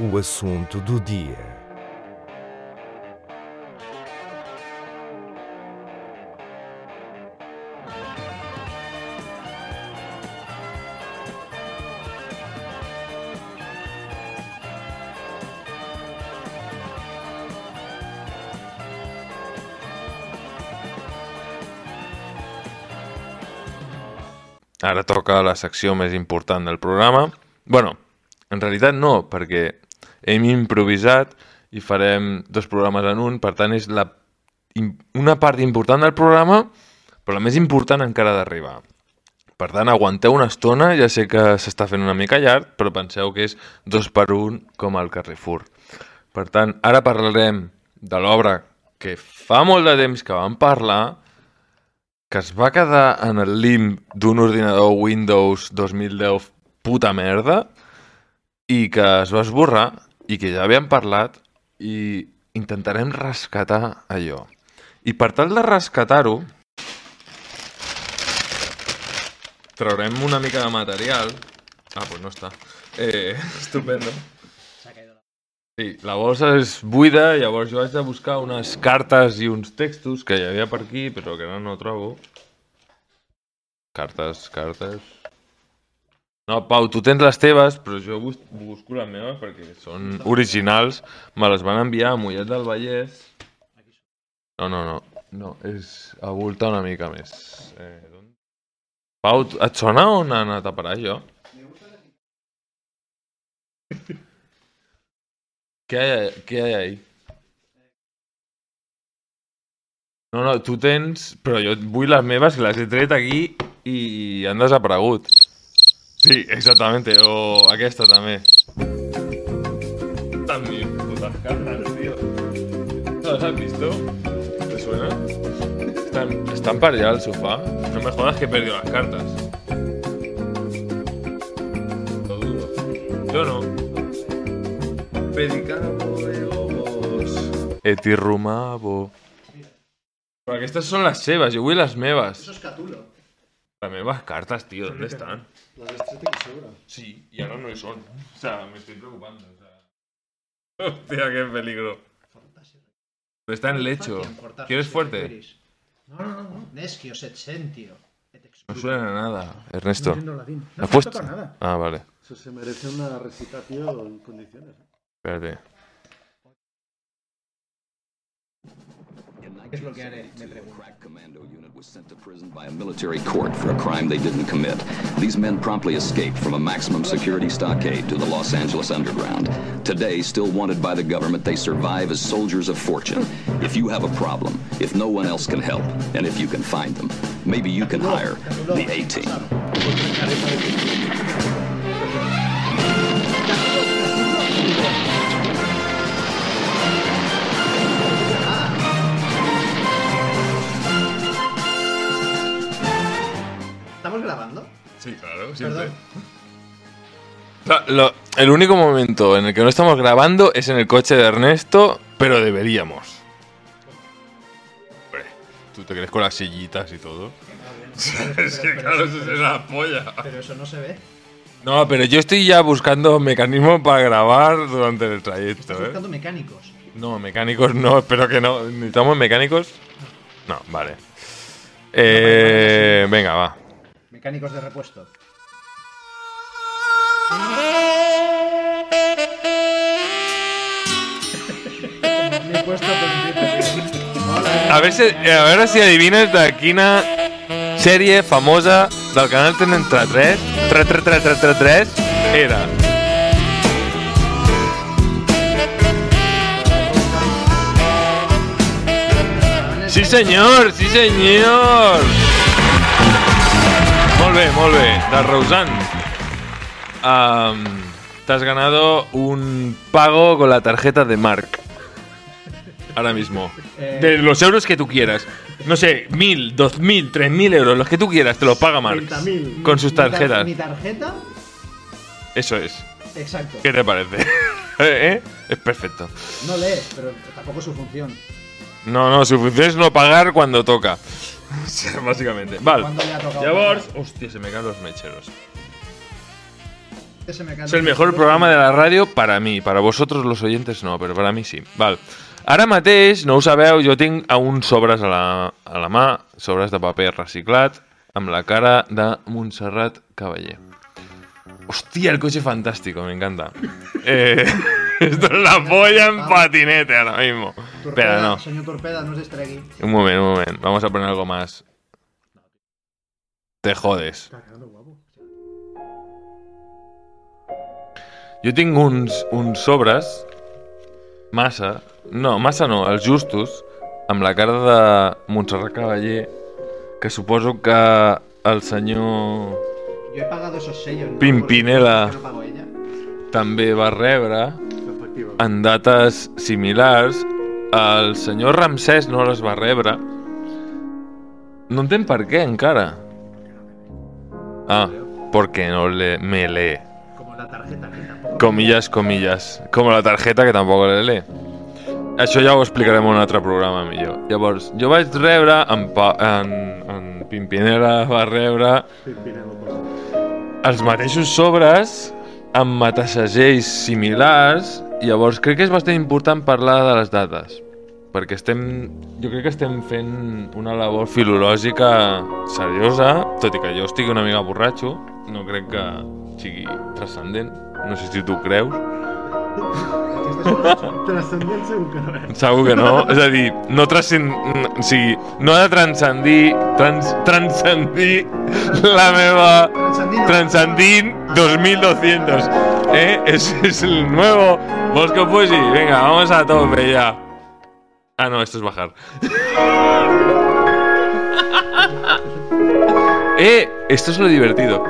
o assunto do dia. Ara toca la secció més important del programa. Bueno, en realitat no, perquè hem improvisat i farem 2 programes en un, per tant és una part important del programa, però la més important encara d'arribar. Per tant, aguanteu una estona, ja sé que s'està fent una mica llarg, però penseu que és 2 per 1 com al Carrefour. Per tant, ara parlarem de l'obra que fa molt de temps que vam parlar, que es va quedar en el limb d'un ordinador Windows 2010 puta merda i que es va esborrar i que ja havíem parlat i intentarem rescatar allò. I per tal de rescatar-ho, traurem una mica de material. Ah, pues no està. Estupendo. Sí, la bossa és buida, llavors jo vaig de buscar unes cartes i uns textos que hi havia per aquí, però que ara no trobo. Cartes. No, Pau, tu tens les teves, però jo busco les meves perquè són originals. Me les van enviar a Mollet del Vallès. No, és a voltar una mica més. Pau, et sona on ha anat a parar això? ¿Qué hay ahí? No, tu tens... Però jo vull les meves, que les he tret aquí i han desaparegut. Sí, exactamente. O aquesta també. Están mis putas cartas, tío. ¿No las has visto? ¿Te suena? Están para allá al sofá. No me jodas que he perdido las cartas. Lo dudo. Yo no. Pedicabo de ovos. Etirrumabo. Però aquestes són les seves, jo vull les meves. Eso es Catulo. Las meves cartas, tío, ¿dónde están? Las de Street seguro. Sí, y ahora no son. O sea, me estoy preocupando. O sea... Hostia, qué peligro. Está en lecho. ¿Quieres fuerte? No. Neschio, Setsentio. No suena a nada, Ernesto. No ¿Has puesto? toca nada. Ah, vale. Eso se merece una recitación en condiciones. Espérate. ¿Qué es lo que haré? Me pregunto. Commando unit was sent to prison by a military court for a crime they didn't commit. These men promptly escaped from a maximum security stockade to the Los Angeles underground. Today, still wanted by the government, they survive as soldiers of fortune. If you have a problem, if no one else can help, and if you can find them, maybe you can hire the A-Team. ¿Estamos grabando? Sí, claro, siempre. Perdón. O sea, el único momento en el que no estamos grabando es en el coche de Ernesto, pero deberíamos. Hombre, ¿tú te crees con las sillitas y todo? Es que claro, eso es la polla. Pero eso no se ve. No, pero yo estoy ya buscando mecanismos para grabar durante el trayecto, Estás buscando mecánicos. No, mecánicos no, espero que no. ¿Necesitamos mecánicos? No, vale. Venga, va. Mecánicos de repuesto. Me he puesto A ver si adivinas de quina sèrie famosa del canal 33 era. Sí, senyor, sí, senyor. Molt bé, de Roseanne. Te has ganado un pago con la tarjeta de Marc. Ahora mismo. De los euros que tú quieras. No sé, 1.000, 2.000, 3.000 euros, los que tú quieras, te los paga Marc. 30.000. Con sus tarjetas. ¿Mi tarjeta? Eso es. Exacto. ¿Qué te parece? Es perfecto. No lee, pero tampoco es su función. No, su función es no pagar cuando toca. Básicamente. Vale. ¿Cuándo le ha tocado Llavors... pagar? Hòstia, se me caen los mecheros. repente se me caen Es el los mejor títulos. programa de la ràdio para mí. Para vosotros los oyentes no, però para mí sí. Val. Ara mateix, no ho sabeu, jo tinc uns sobres a la mà, sobres de paper reciclat, amb la cara de Montserrat Caballé. Hostia, el coche fantástico, me encanta. Esto es la polla en patinete ahora mismo. Espera, no. Señor Torpeda, no es distregui. Un moment. Vamos a poner algo más. Te jodes. Está quedando guapo. Jo tinc uns sobres, massa no, els justos, amb la cara de Montserrat Caballé, que suposo que el senyor Yo he pagado esos sellos, ¿no? Pimpinela ¿Por qué no pago ella? també va rebre Efectivament. en dates similars. El senyor Ramsès no les va rebre. No entenc per què encara. Ah, porque no me lee. Como la tarjeta, que tampoco. Comillas. Com la targeta, que tampoc la lee. Això ja ho explicarem en un altre programa millor. Llavors, jo vaig rebre, en Pimpinela va rebre els mateixos sobres amb matasegells similars. Llavors crec que és bastant important parlar de les dates, perquè jo crec que estem fent una labor filològica seriosa, tot i que jo estigui una mica borratxo, no crec que sigui transcendent, no sé si tu creus. Transcendent segur que no és. Segur que no, és a dir, no no ha de transcendir la meva Transcendint 2200, es el nuevo. ¿Vos que pues sí? Venga, vamos a tope ya. Ah, no, esto es bajar. Esto es lo divertido.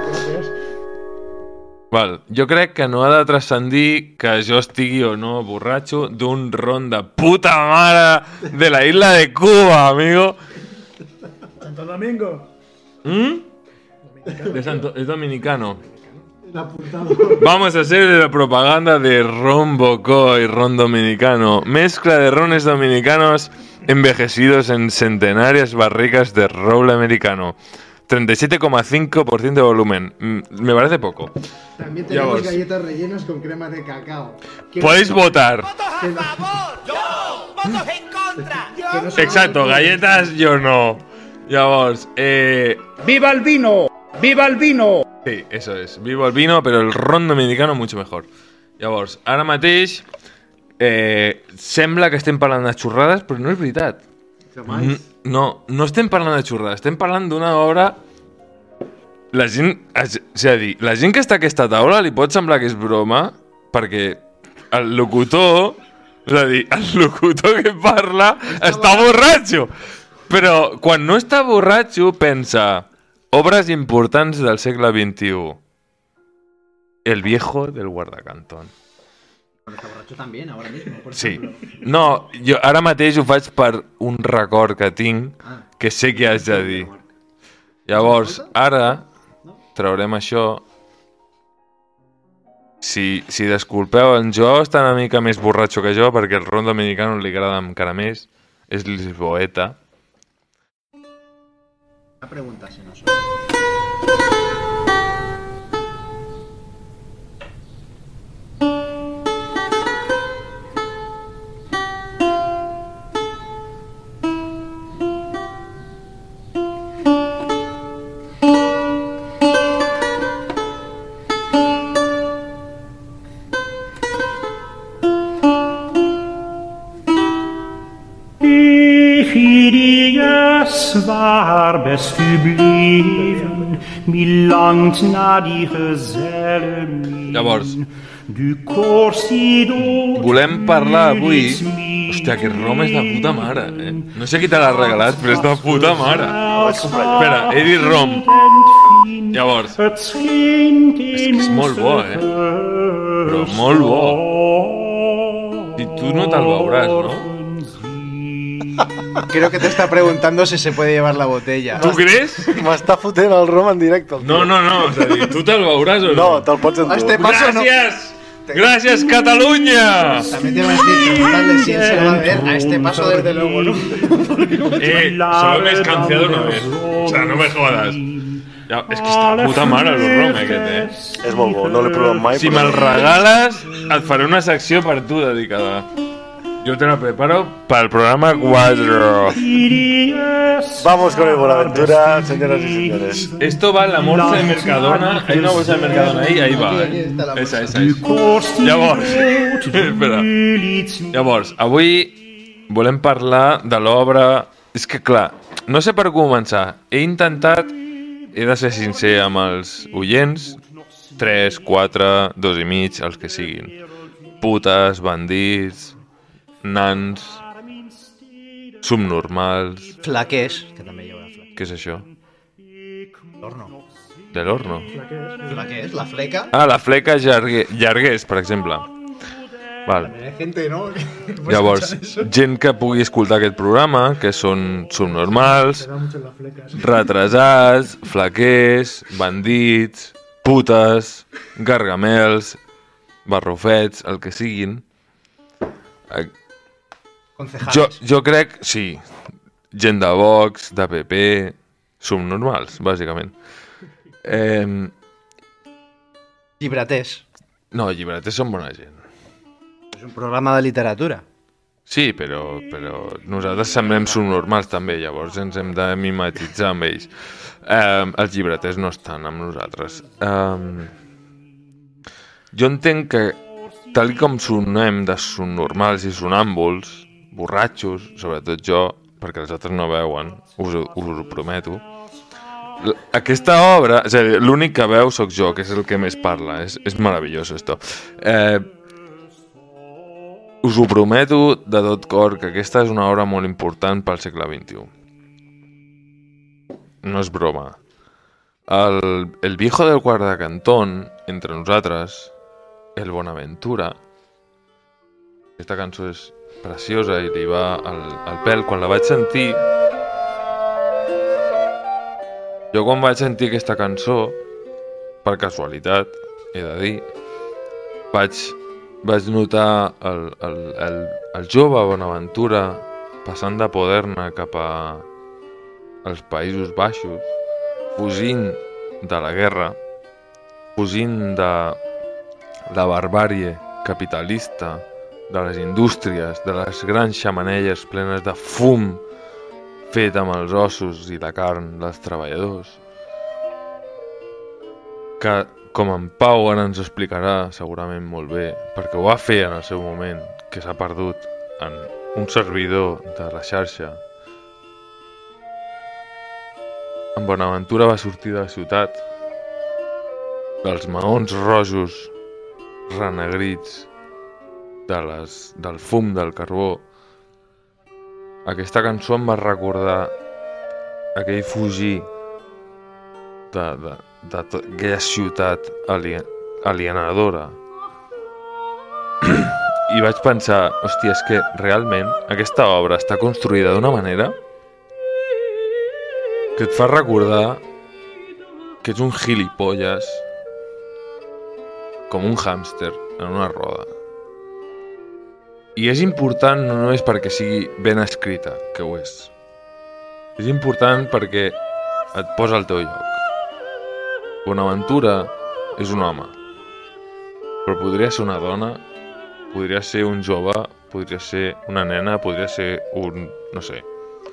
Val, jo crec que no ha de transcendir que jo estigui o no borratxo d'un ron de puta mare de la isla de Cuba, amigo. Santo Domingo. Es dominicano. El apuntado. Vamos a hacer la propaganda de Ron Bocó y Ron Dominicano. Mezcla de rones dominicanos envejecidos en centenarias barricas de roble americano. 37,5% de volumen. Me parece poco. También Ya tenemos vos. galletas rellenas con crema de cacao. Podéis votar. ¡Votos a favor! ¡Yo! ¡Votos en contra! Que no son Exacto, galletas yo no. Llavors, ¡Viva el vino! ¡Viva el vino! sí, eso es. Vivo el vino, pero el ron dominicano mucho mejor. Llavors, ara mateix sembla que estem parlant de xorrades, però no és veritat. No estem parlant de xorrades, estem parlant d'una obra... La gent que està a aquesta taula li pot semblar que és broma, perquè el locutor, és a dir, el locutor que parla està borratxo. Però quan no està borratxo pensa obres importants del segle XXI. El viejo del guardacantón. Bueno, está borracho también, ahora mismo, por Sí. ejemplo. No, jo ara mateix ho faig per un record que tinc que sé que haig de dir. Llavors, ara traurem això. Si desculpeu, en Jo està una mica més borratxo que jo perquè el ron dominicano li agrada encara més. És lisboeta. Una pregunta, si no son. Waar best u bleven, wie langt naar die gezelle min. Llavors, Du corsido. volem parlar avui... Hòstia, aquest rom és de puta mare, No sé qui te l'ha regalat, però és de puta mare. Espera, he dit rom. Llavors, És que és molt bo, Però molt bo. I tu no te'l veuràs, no? Creo que te está preguntando si se puede llevar la botella. Tu creus? M'està fotent el rom en directe. El tio. No, és a dir, tu te'l veuràs o no? No, te'l pots A endur. este paso no. Gràcies! Gràcies, Catalunya! También te va a decir, preguntarle si él se lo va a ver. A este paso, desde luego, ¿no? Solo me he escanciado una vez. O sea, no me jodas. Ja, és que està puta mare el rom aquest, És molt bo, no l'he provat mai. Si me'l regales, et faré una secció per tu dedicada. Yo te la preparo para el programa 4. Vamos con el Buenaventura, señoras y señores. Esto va en la bolsa de Mercadona. Hay una bolsa de Mercadona ahí va. Esa. Llavors, espera. Llavors, avui volem parlar de l'obra... És que clar, no sé per començar. He de ser sincer amb els oients, 3, 4, 2 i mig, els que siguin. Putes, bandits, nans, subnormals... Flaquers, que també hi haurà flaquers. Què és això? L'horno. De l'horno? Flaquers, la fleca. Ah, la fleca llarguers, per exemple. Val. Hay gente, ¿no? Llavors, gent que pugui escoltar aquest programa, que són subnormals, retrasats, flaquers, bandits, putes, gargamels, barrufets, el que siguin. Jo crec, sí, gent de Vox, de PP, subnormals, bàsicament. Llibreters. No, llibreters són bona gent. És un programa de literatura. Sí, però nosaltres semblem subnormals també, llavors ens hem de mimetitzar amb ells. Els llibreters no estan amb nosaltres. Jo entenc que, tal com sonem de subnormals i sonàmbuls, borratxos, sobretot jo, perquè els altres no veuen, us ho prometo, aquesta obra, és a dir, l'únic que veu sóc jo, que és el que més parla, és meravellós esto. Us ho prometo de tot cor que aquesta és una obra molt important pel segle XXI. No és broma. El viejo del quart de cantón, entre nosaltres, el Bonaventura, aquesta cançó és preciosa i li va al pèl. Quan la vaig sentir... Jo quan vaig sentir aquesta cançó, per casualitat, he de dir, vaig notar el jove Bonaventura passant de Poderna cap als Països Baixos, fugint de la guerra, fugint de la barbàrie capitalista, de les indústries, de les grans xemeneies plenes de fum fet amb els ossos i la carn dels treballadors, que, com en Pau ara ens explicarà segurament molt bé, perquè ho va fer en el seu moment, que s'ha perdut en un servidor de la xarxa. En Bonaventura va sortir de la ciutat, dels maons rojos renegrits, del fum del carbó. Aquesta cançó em va recordar aquell fugir d'aquella ciutat alienadora. I vaig pensar, hòstia, és que realment aquesta obra està construïda d'una manera que et fa recordar que ets un gilipolles com un hàmster en una roda. I és important no només perquè sigui ben escrita, que ho és. És important perquè et posa al teu lloc. Bonaventura és un home, però podria ser una dona, podria ser un jove, podria ser una nena, podria ser un... no sé.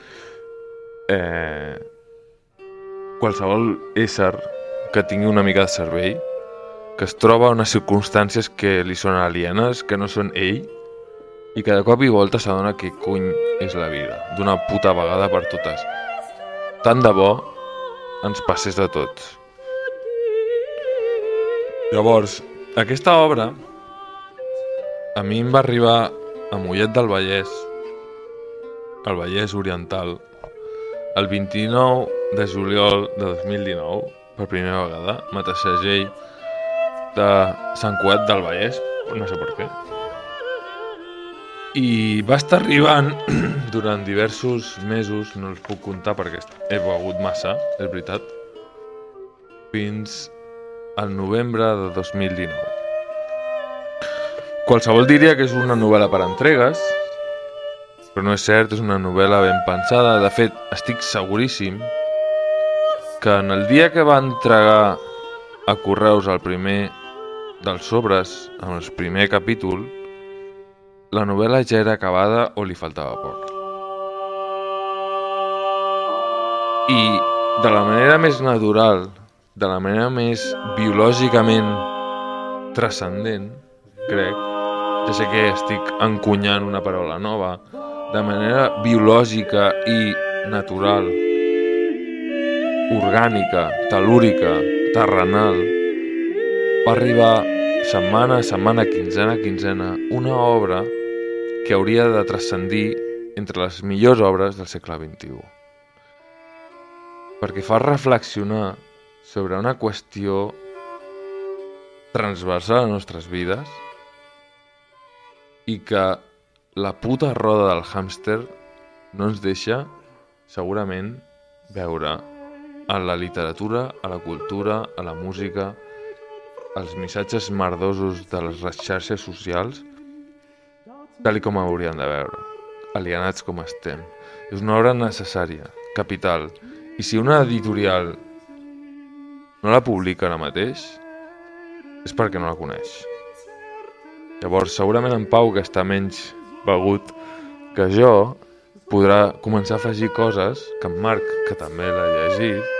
Qualsevol ésser que tingui una mica de cervell, que es troba en unes circumstàncies que li són alienes, que no són ell, i que de cop i volta s'adona que cony és la vida, d'una puta vegada per totes. Tant de bo ens passés de tots. Llavors, aquesta obra a mi em va arribar a Mollet del Vallès, al Vallès Oriental, el 29 de juliol de 2019, per primera vegada, mateix segell de Sant Cugat del Vallès, no sé per què. I va estar arribant durant diversos mesos, no els puc comptar perquè he begut massa, és veritat, fins al novembre de 2019. Qualsevol diria que és una novel·la per entregues, però no és cert, és una novel·la ben pensada. De fet, estic seguríssim que en el dia que va entregar a Correus el primer dels sobres, en el primer capítol, la novel·la ja era acabada o li faltava poc. I de la manera més natural, de la manera més biològicament transcendent, crec, ja sé que estic encunyant una paraula nova, de manera biològica i natural, orgànica, tel·lúrica, terrenal, va arribar setmana a setmana, quinzena a quinzena, una obra que hauria de transcendir entre les millors obres del segle XXI. Perquè fa reflexionar sobre una qüestió transversal a les nostres vides i que la puta roda del hàmster no ens deixa, segurament, veure a la literatura, a la cultura, a la música, els missatges merdosos de les xarxes socials, tal com hauríem de veure, alienats com estem. És una obra necessària, capital, i si una editorial no la publica ara mateix, és perquè no la coneix. Llavors, segurament en Pau, que està menys begut que jo, podrà començar a afegir coses que en Marc, que també l'ha llegit,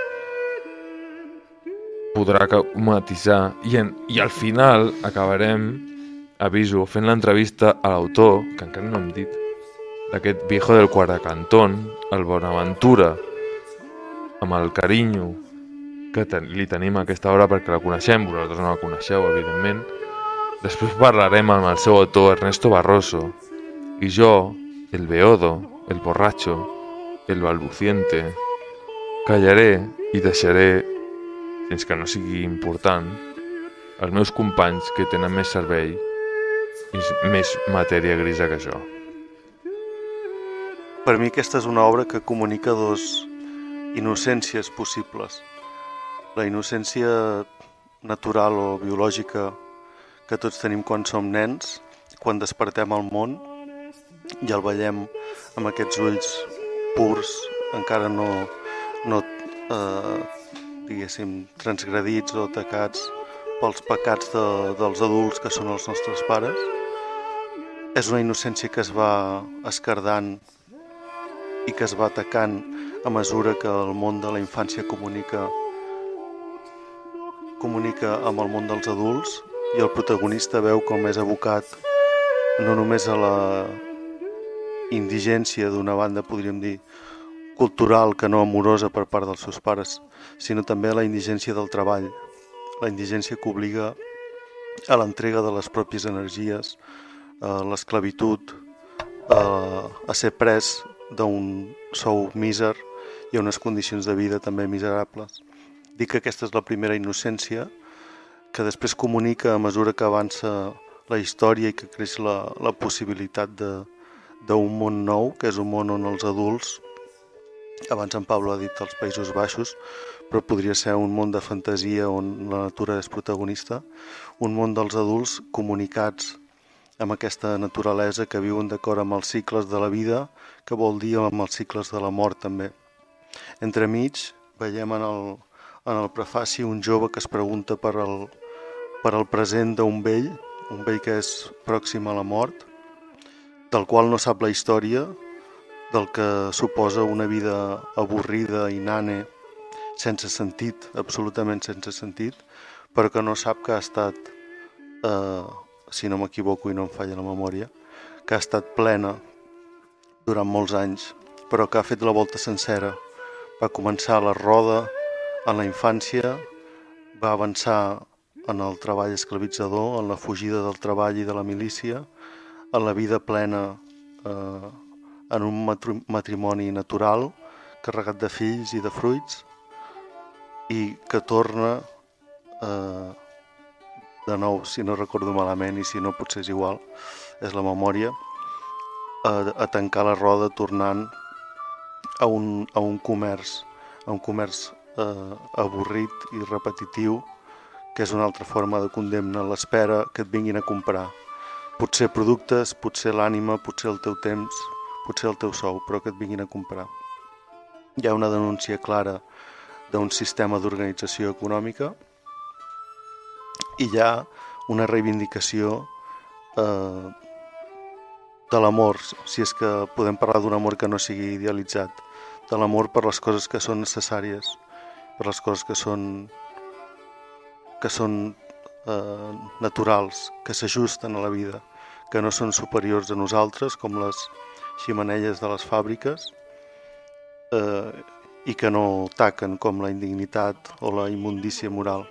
podrà matisar i al final acabarem, aviso, fent l'entrevista a l'autor, que encara no hem dit, d'aquest Viejo del Cuartacantón, el Bonaventura, amb el carinyo que li tenim a aquesta obra perquè la coneixem, vosaltres no la coneixeu, evidentment. Després parlarem amb el seu autor, Ernesto Barroso, i jo, el beodo, el borracho, el balbuciente, callaré i deixaré, fins que no sigui important, els meus companys que tenen més cervell i més matèria grisa que jo. Per mi aquesta és una obra que comunica dos innocències possibles. La innocència natural o biològica que tots tenim quan som nens, quan despertem al món i el veiem amb aquests ulls purs, encara no diguéssim, transgredits o atacats pels pecats dels adults que són els nostres pares. És una innocència que es va esquerdant i que es va atacant a mesura que el món de la infància comunica amb el món dels adults i el protagonista veu com és abocat no només a la indigència d'una banda, podríem dir, cultural que no amorosa per part dels seus pares, sinó també a la indigència del treball, la indigència que obliga a l'entrega de les pròpies energies, a l'esclavitud, a ser pres d'un sou míser i a unes condicions de vida també miserables. Dic que aquesta és la primera innocència que després comunica a mesura que avança la història i que creix la possibilitat d'un món nou, que és un món on els adults, abans en Pablo ha dit els Països Baixos, però podria ser un món de fantasia on la natura és protagonista, un món dels adults comunicats amb aquesta naturalesa que viuen d'acord amb els cicles de la vida, que vol dir amb els cicles de la mort també. Entremig veiem en el prefaci un jove que es pregunta per el present d'un vell que és pròxim a la mort, del qual no sap la història, del que suposa una vida avorrida i nane, sense sentit, absolutament sense sentit, però que no sap que ha estat, si no m'equivoco i no em falla la memòria, que ha estat plena durant molts anys, però que ha fet la volta sencera. Va començar la roda en la infància, va avançar en el treball esclavitzador, en la fugida del treball i de la milícia, en la vida plena en un matrimoni natural, carregat de fills i de fruits, i que torna, de nou, si no recordo malament i si no potser és igual, és la memòria, a tancar la roda tornant a un comerç avorrit i repetitiu, que és una altra forma de condemna, l'espera que et vinguin a comprar. Potser productes, potser l'ànima, potser el teu temps, potser el teu sou, però que et vinguin a comprar. Hi ha una denúncia clara d'un sistema d'organització econòmica, i hi ha una reivindicació de l'amor, si és que podem parlar d'un amor que no sigui idealitzat, de l'amor per les coses que són necessàries, per les coses que són naturals, que s'ajusten a la vida, que no són superiors a nosaltres, com les ximeneies de les fàbriques, i que no taquen com la indignitat o la immundícia moral.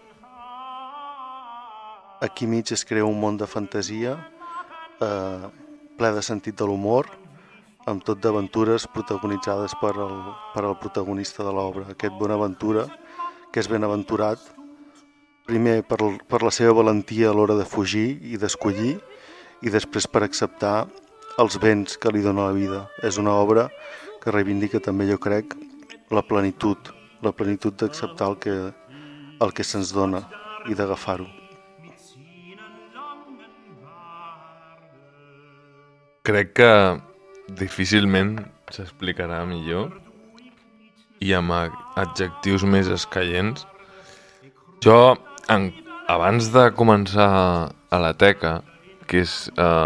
Aquí mig es crea un món de fantasia ple de sentit de l'humor, amb tot d'aventures protagonitzades per el protagonista de l'obra, aquest Bonaventura, que és benaventurat, primer per la seva valentia a l'hora de fugir i d'escollir, i després per acceptar els béns que li dona la vida. És una obra que reivindica també, jo crec, la plenitud d'acceptar el que se'ns dona i d'agafar-ho. Crec que difícilment s'explicarà millor i amb adjectius més escaients. Jo, abans de començar a la teca, que és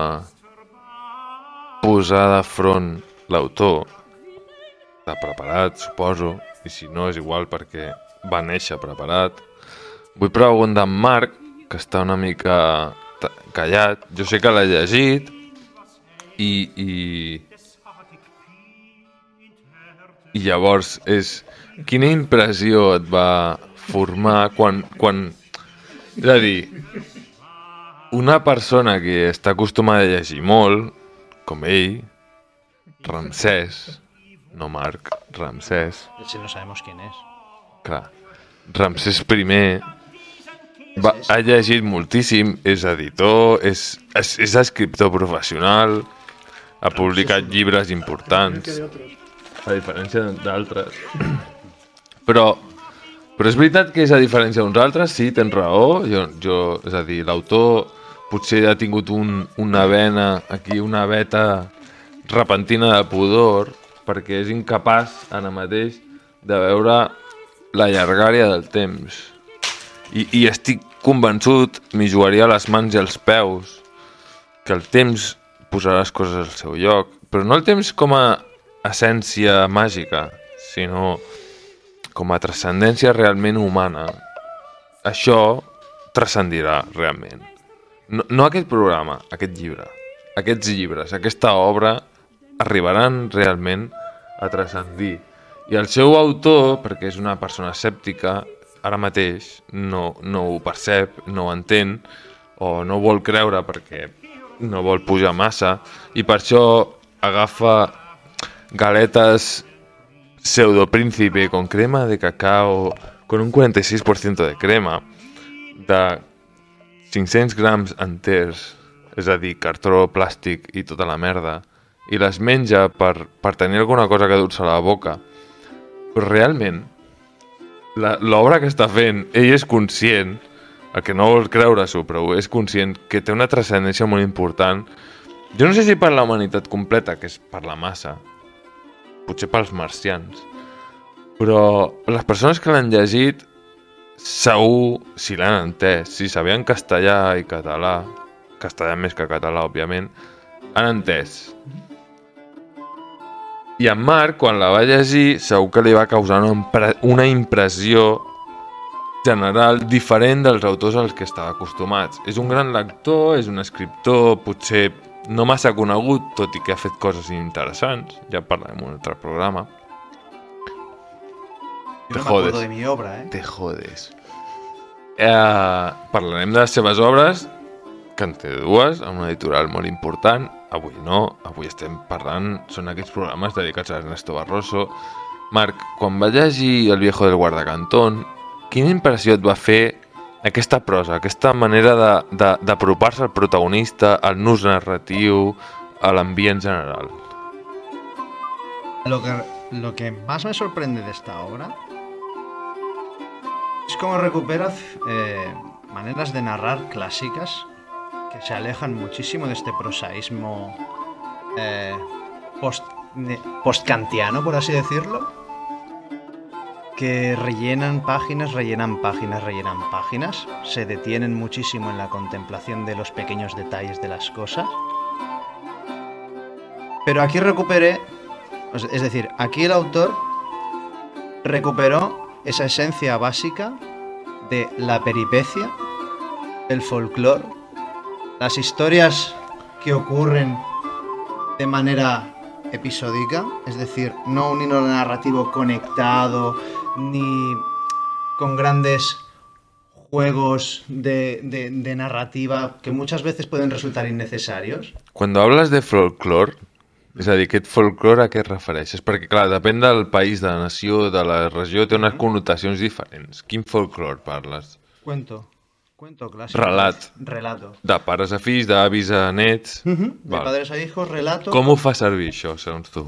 posar de front l'autor, està preparat, suposo, i si no és igual perquè va néixer preparat, vull preguntar a en Marc, que està una mica callat. Jo sé que l'ha llegit i llavors quina impressió et va formar quan... És a dir, una persona que està acostumada a llegir molt, com ell, Ramsès, no Marc, Ramsès. Si no sabemos quién es. Clar, Ramsès I ha llegit moltíssim, és editor, és escriptor professional, ha publicat llibres importants, a diferència d'altres. Però és veritat que és a diferència d'uns altres, sí, tens raó. És a dir, l'autor potser ha tingut una vena aquí, una veta repentina de pudor, perquè és incapaç ara mateix de veure la llargària del temps. I estic convençut, m'hi jugaria les mans i els peus, que el temps posarà les coses al seu lloc, però no el temps com a essència màgica, sinó com a transcendència realment humana. Això transcendirà realment. No aquest programa, aquest llibre. Aquests llibres, aquesta obra arribaran realment a transcendir. I el seu autor, perquè és una persona escèptica, ara mateix no ho percep, no ho entén, o no vol creure perquè no vol pujar massa, i per això agafa galetes pseudopríncipe con crema de cacao, con un 46% de crema, de 500 grams enters, és a dir, cartró, plàstic i tota la merda, i les menja per tenir alguna cosa que dur-se a la boca. Però realment, l'obra que està fent, ell és conscient, el que no vol creure-s'ho, però és conscient que té una transcendència molt important. Jo no sé si per la humanitat completa, que és per la massa, potser pels marcians, però les persones que l'han llegit segur, si l'han entès, si sabien castellà i català, castellà més que català, òbviament, han entès. I en Marc, quan la va llegir, segur que li va causar una impressió general diferent dels autors als que estava acostumats. És un gran lector, és un escriptor, potser no massa conegut, tot i que ha fet coses interessants. Ja parlarem en un altre programa. Yo no me acuerdo de mi obra, Te jodes. Parlarem de les seves obres, que en té dues, amb una editorial molt important. Avui no, avui estem parlant, són aquests programes dedicats a Ernesto Barroso. Marc, quan va llegir El viejo del guardacantón, quina impressió et va fer aquesta prosa, aquesta manera d'apropar-se al protagonista, al nus narratiu, a l'ambient general? Lo que más me sorprende de esta obra es cómo recupera maneras de narrar clásicas que se alejan muchísimo de este prosaísmo postkantiano, por así decirlo, que rellenan páginas, se detienen muchísimo en la contemplación de los pequeños detalles de las cosas. Pero aquí recuperé, es decir, aquí el autor recuperó esa esencia básica de la peripecia, el folclore, las historias que ocurren de manera episódica, es decir, no un hilo narrativo conectado ni con grandes juegos de narrativa que muchas veces pueden resultar innecesarios. Cuando hablas de folclore, és a dir, aquest folclore a què et refereixes? Perquè, clar, depèn del país, de la nació, de la regió, té unes connotacions diferents. Quin folclore parles? Cuento clásico. Relato. De pares a fills, d'avis a nets... De padres a hijos, relato. Com ho fa servir això, segons tu?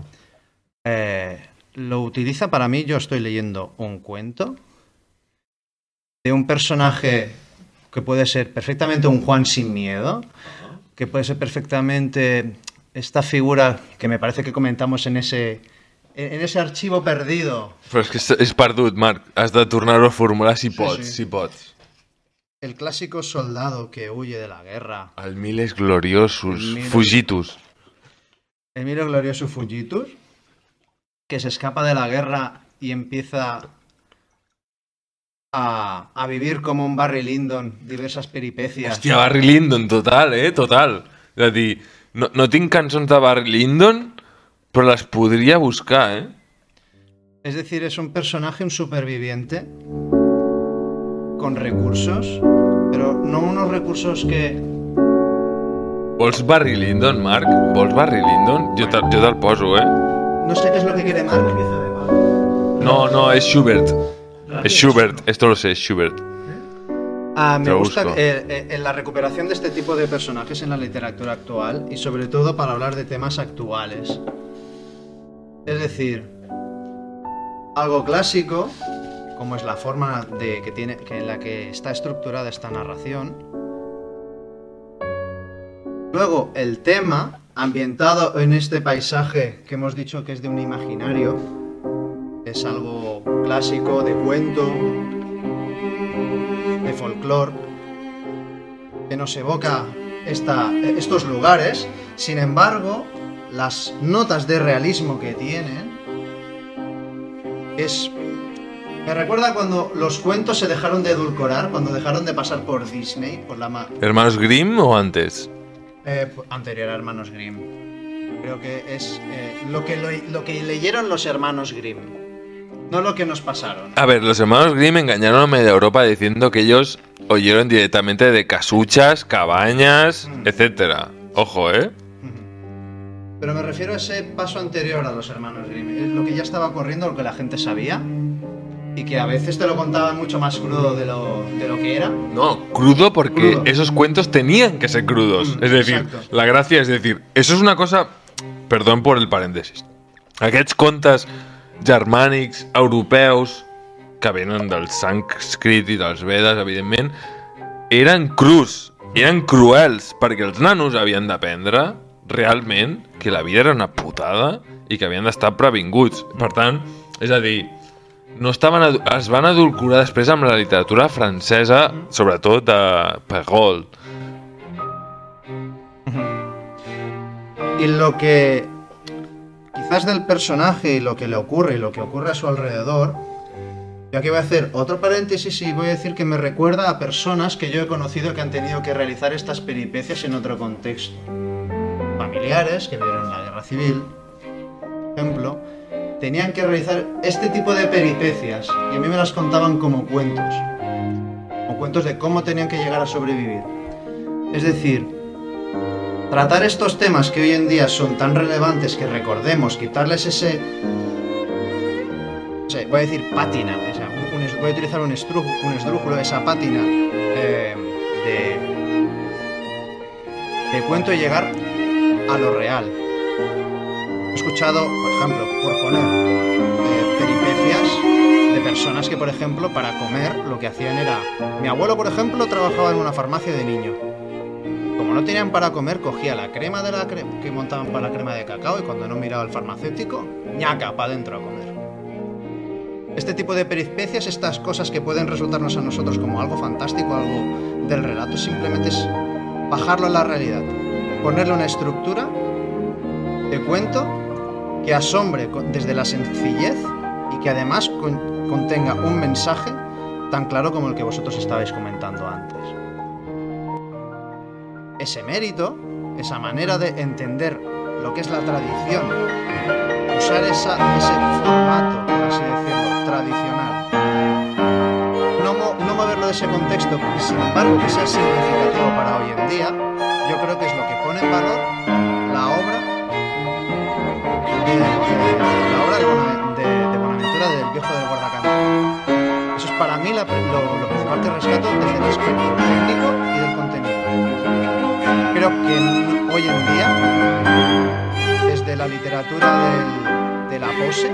Lo utiliza para mí, yo estoy leyendo un cuento de un personaje que puede ser perfectamente un Juan sin miedo, que puede ser perfectamente esta figura que me parece que comentamos en ese archivo perdido. Però és que és perdut, Marc. Has de tornar-ho a formular si pots, si pots. El clásico soldado que huye de la guerra. El Miles Gloriosus, Fugitus. El Miles Gloriosus Fugitus, que se escapa de la guerra y empieza a vivir como un Barry Lyndon, diversas peripecias. Hòstia, Barry Lyndon, total, total. És a dir, no tinc cançons de Barry Lyndon, però les podria buscar, Es decir, es un personaje, un superviviente, con recursos, pero no unos recursos que... Vols Barry Lyndon, Marc? Vols Barry Lyndon? Jo te'l poso, No sé qué es lo que quiere Marc. No, es Schubert. Es Schubert, esto lo sé, es Schubert. Me gusta la recuperación de este tipo de personajes en la literatura actual y sobre todo para hablar de temas actuales. Es decir, algo clásico, como es la forma en la que está estructurada esta narración. Luego, el tema, ambientado en este paisaje que hemos dicho que es de un imaginario, es algo clásico, de cuento, de folclore, que nos evoca estos lugares. Sin embargo, las notas de realismo que tienen me recuerda cuando los cuentos se dejaron de edulcorar, cuando dejaron de pasar por Disney, por la ¿Hermanos Grimm o antes? Anterior a Hermanos Grimm. Creo que es lo que leyeron los hermanos Grimm, no lo que nos pasaron. A ver, los hermanos Grimm engañaron a media Europa diciendo que ellos oyeron directamente de casuchas, cabañas, etcétera. Ojo, Pero me refiero a ese paso anterior a los hermanos Grimm, lo que ya estaba corriendo, lo que la gente sabía y que a veces te lo contaban mucho más crudo de lo que era. No, crudo porque esos cuentos tenían que ser crudos. Es decir, exacto. La gràcia és dir, eso es una cosa... Perdón por el paréntesis. Aquests contes germànics, europeus, que venen del sànscrit i dels Vedes, evidentment, eren crus, eren cruels, perquè els nanos havien d'aprendre realment que la vida era una putada i que havien d'estar previnguts. Per tant, és a dir, es van adulcorar després amb la literatura francesa, sobretot de Perrault. Y lo que quizás del personaje y lo que le ocurre y lo que ocurre a su alrededor, yo aquí voy a hacer otro paréntesis y voy a decir que me recuerda a personas que yo he conocido que han tenido que realizar estas peripecias en otro contexto. Familiares que vivieron la guerra civil, por ejemplo, tenían que realizar este tipo de peripecias y a mí me las contaban como cuentos de cómo tenían que llegar a sobrevivir. Es decir, tratar estos temas que hoy en día son tan relevantes que recordemos, quitarles ese... voy a decir pátina, voy a utilizar un esdrújulo, esa pátina de cuento y llegar a lo real. He escuchado, por ejemplo, por poner peripecias de personas que, por ejemplo, para comer lo que hacían era... Mi abuelo, por ejemplo, trabajaba en una farmacia de niño. Como no tenían para comer, cogía la crema que montaban para la crema de cacao y cuando no miraba el farmacéutico, ñaca, para adentro a comer. Este tipo de peripecias, estas cosas que pueden resultarnos a nosotros como algo fantástico, algo del relato, simplemente es bajarlo a la realidad, ponerle una estructura de cuento que asombre desde la sencillez y que además contenga un mensaje tan claro como el que vosotros estabais comentando antes. Ese mérito, esa manera de entender lo que es la tradición, usar ese formato, por así decirlo, tradicional, no moverlo de ese contexto, sin embargo que sea significativo para hoy en día, yo creo que es lo que pone en valor la obra de Bonaventura del Viejo del Guardacampo. Eso es para mí lo principal que rescato desde el aspecto técnico y del contenido. Creo que hoy en día, desde la literatura de la pose,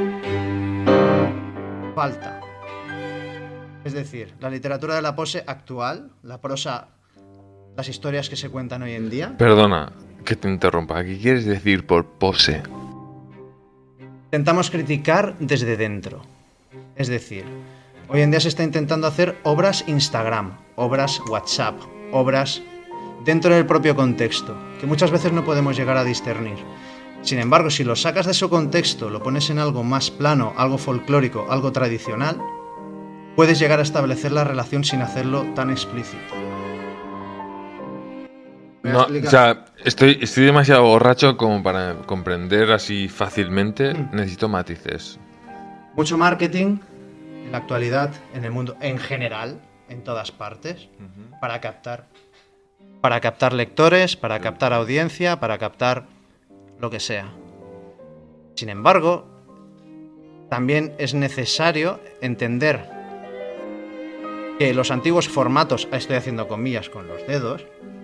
falta. Es decir, la literatura de la pose actual, la prosa, las historias que se cuentan hoy en día... Perdona que te interrumpa. ¿Qué quieres decir por pose? Intentamos criticar desde dentro. Es decir, hoy en día se está intentando hacer obras Instagram, obras WhatsApp, obras dentro del propio contexto, que muchas veces no podemos llegar a discernir. Sin embargo, si lo sacas de su contexto, lo pones en algo más plano, algo folclórico, algo tradicional, puedes llegar a establecer la relación sin hacerlo tan explícito. No, o sea, estoy demasiado borracho como para comprender así fácilmente. Necesito matices. Mucho marketing en la actualidad, en el mundo en general, en todas partes, para captar lectores, para captar audiencia, para captar lo que sea. Sin embargo, también es necesario entender que los antiguos formatos, estoy haciendo comillas con los dedos,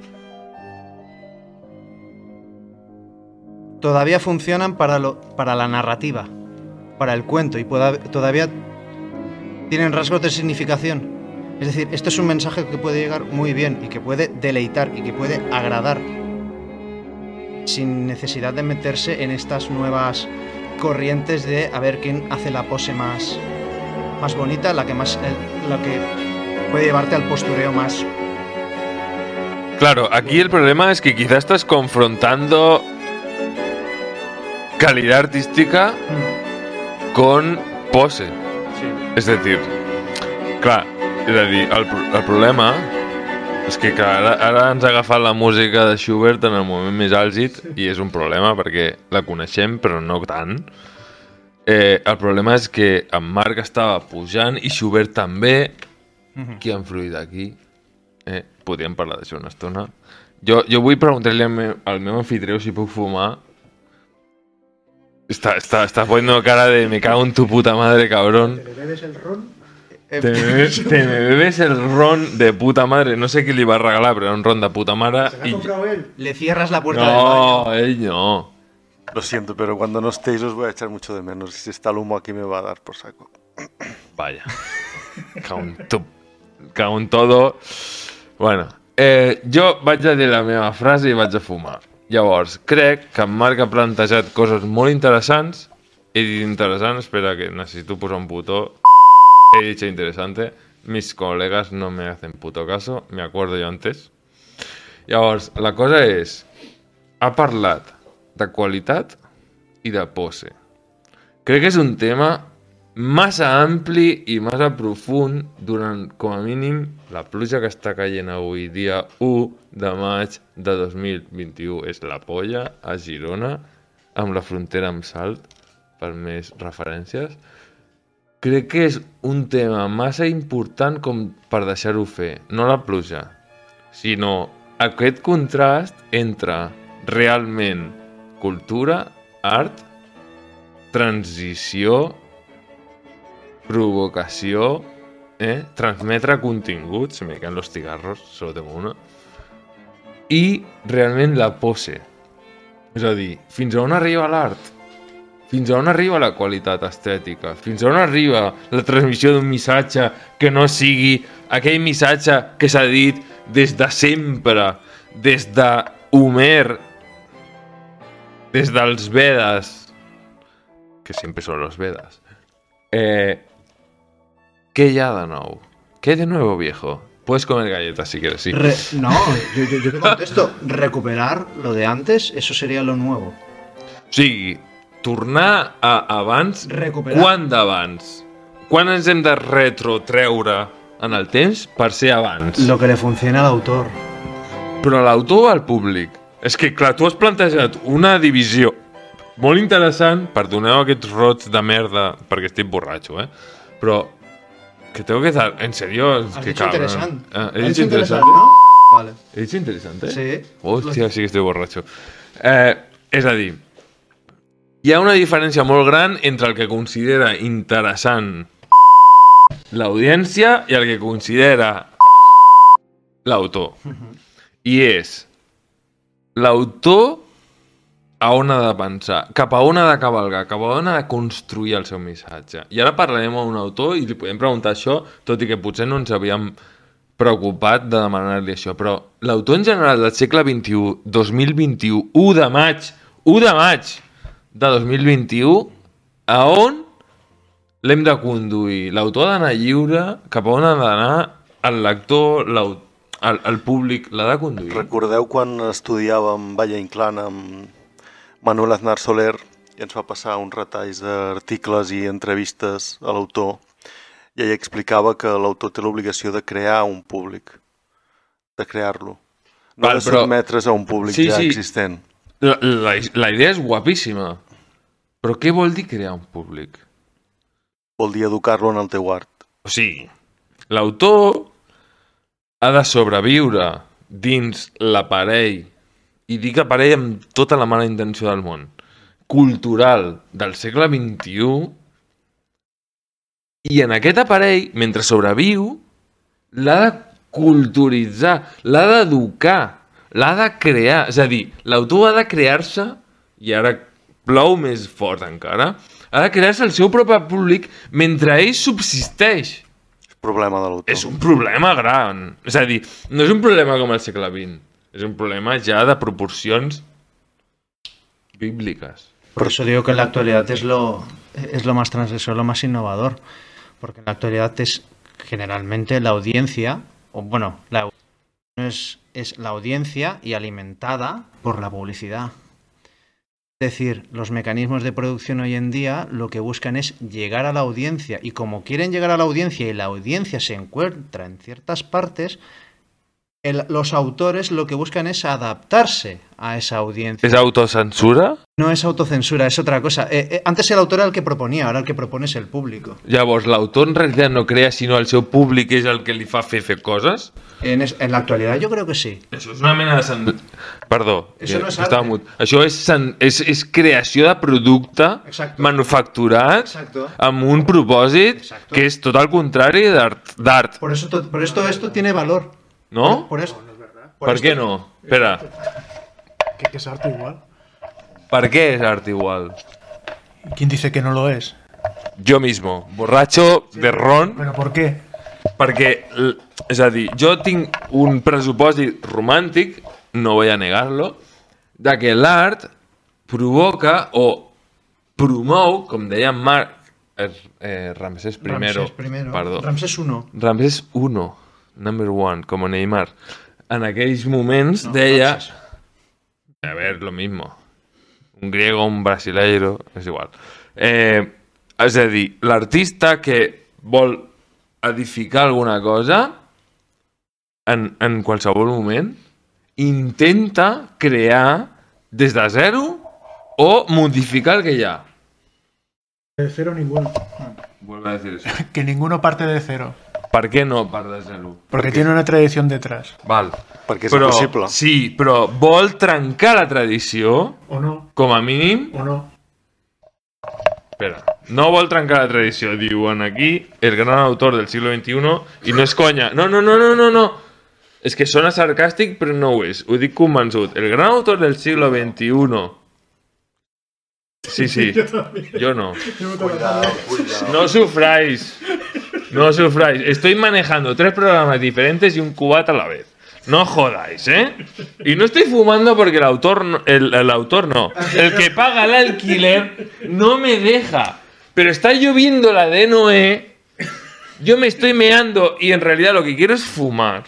todavía funcionan para la narrativa, para el cuento, y todavía tienen rasgos de significación. Es decir, esto es un mensaje que puede llegar muy bien y que puede deleitar y que puede agradar sin necesidad de meterse en estas nuevas corrientes de a ver quién hace la pose más bonita, la que puede llevarte al postureo más. Claro, aquí el problema es que quizás estás confrontando calidad artística con pose. Sí. És a dir, clar, és a dir, el problema és que ara ens ha agafat la música de Schubert en el moment més àlgid i és un problema perquè la coneixem però no tant. El problema és que en Marc estava pujant i Schubert també. Qui ha influït aquí? Podríem parlar d'això una estona. Jo vull preguntar-li al meu anfitrió si puc fumar. Está poniendo cara de me cago en tu puta madre, cabrón. ¿Te bebes el ron? Te me bebes el ron de puta madre. No sé qui li va regalar, però era un ron de puta mare. ¿Se lo ha comprado él? Le cierras la puerta del baño. No, él no. Lo siento, pero cuando no estéis os voy a echar mucho de menos. Si está el humo aquí me va a dar por saco. Vaya. Cago en todo. Bueno, jo vaig a dir la meva frase i vaig a fumar. Llavors, crec que en Marc ha plantejat coses molt interessants. He dit interessant, espera que necesito posar un botó. He dicho interesante. Mis colegas no me hacen puto caso. Me acuerdo yo antes. Llavors, la cosa és... Ha parlat de qualitat i de pose. Crec que és un tema massa ampli i massa profund durant, com a mínim, la pluja que està caient avui, dia 1 de maig de 2021. És la polla a Girona, amb la frontera amb Salt, per més referències. Crec que és un tema massa important com per deixar-ho fer. No la pluja, sinó aquest contrast entre realment cultura, art, transició, provocació, transmetre continguts, me caen los cigarros, solo tengo una, i realment la pose. És a dir, fins a on arriba l'art? Fins a on arriba la qualitat estètica? Fins a on arriba la transmissió d'un missatge que no sigui aquell missatge que s'ha dit des de sempre, des de Homer, des dels Vedes, que sempre són els Vedes, ¿Qué ya de nou? ¿Qué de nuevo, viejo? Puedes comer galletas si quieres, sí. No, yo te contesto. Recuperar lo de antes, eso sería lo nuevo. O sigui, tornar a abans... Recuperar. Quan d'abans? Quan ens hem de retrotreure en el temps per ser abans? Lo que le funciona al autor. Però l'autor o al públic? És que, clar, tu has plantejat una divisió molt interessant, perdoneu aquests rots de merda, perquè estic borratxo, però que tengo que dar, en serio, Has que dicho cabrón. interesante. He Has dicho interesante, ¿no? Vale. He dicho interesante? Sí. Hòstia, sí que estic borratxo. És a dir, hi ha una diferència molt gran entre el que considera interessant l'audiència i el que considera l'autor. I és l'autor a on ha de pensar, cap a on ha de cavalgar, cap a on ha de construir el seu missatge. I ara parlarem a un autor i li podem preguntar això, tot i que potser no ens havíem preocupat de demanar-li això, però l'autor en general del segle XXI, 2021, 1 de maig de 2021, a on l'hem de conduir? L'autor ha d'anar lliure, cap a on ha d'anar el lector, el públic, l'ha de conduir? Recordeu quan estudiàvem Valle Inclán amb Manuel Aznar Soler i ens va passar uns retalls d'articles i entrevistes a l'autor i ell explicava que l'autor té l'obligació de crear un públic, de crear-lo, no de sotmetre's a un públic ja existent. La idea és guapíssima, però què vol dir crear un públic? Vol dir educar-lo en el teu art. O sigui, l'autor ha de sobreviure dins l'aparell, i dic aparell amb tota la mala intenció del món, cultural del segle XXI, i en aquest aparell, mentre sobreviu, l'ha de culturitzar, l'ha d'educar, l'ha de crear. És a dir, l'autor ha de crear-se, i ara plou més fort encara, ha de crear-se el seu propi públic mentre ell subsisteix. Problema de l'autor. És un problema gran. És a dir, no és un problema com el segle XX. És un problema ya de proporcions bíblicas. Por eso digo que en la actualidad es lo más transgresor, lo más innovador. Porque en la actualidad es generalmente la audiencia, o bueno, es la audiencia y alimentada por la publicidad. Es decir, los mecanismos de producción hoy en día lo que buscan es llegar a la audiencia, y como quieren llegar a la audiencia y la audiencia se encuentra en ciertas partes, los autores lo que buscan es adaptarse a esa audiencia. ¿Es autocensura? No es autocensura, es otra cosa. Antes el autor era el que proponía, ahora el que propone es el público. Llavors, l'autor en realitat no crea, sinó el seu públic és el que li fa fer coses? En la actualidad yo creo que sí. Això és una mena de... Perdó, això no és arte. Això és creació de producte manufacturat amb un propòsit que és tot el contrari d'art. Por esto esto tiene valor. ¿No? Por eso. ¿Por qué no? Espera. ¿Que es arte igual? ¿Para qué es arte igual? ¿Quién dice que no lo es? Yo mismo, borracho de ron. ¿Pero por qué? Perquè, és a dir, jo tinc un pressupòsit romàntic, no voy a negar-lo, de que l'art provoca o promou, com deia Ramsès I, perdó. Ramsès I. Ramsès I. Number one, como Neymar. En aquells moments deia... A ver, lo mismo. Un griego, un brasileiro, és igual. És a dir, l'artista que vol edificar alguna cosa en qualsevol moment intenta crear des de zero o modificar el que hi ha. De cero ninguno. Vuelve a decir eso. Que ninguno parte de cero. ¿Por qué no part de zero? Porque tiene una tradición detrás. Val. Perquè és impossible. Sí, però vol trencar la tradició, o no, com a mínim, o no. Espera, no vol trencar la tradició, diuen aquí, el gran autor del siglo XXI, i no és conya. No. És que sona sarcàstic, però no ho és. Ho dic convençut. El gran autor del siglo XXI... Sí. Yo no. No sufráis. Estoy manejando 3 programas diferentes y un cubata a la vez. No jodáis, ¿eh? Y no estoy fumando porque el autor no. El que paga el alquiler no me deja. Pero está lloviendo la de Noé yo me estoy meando y en realidad lo que quiero es fumar.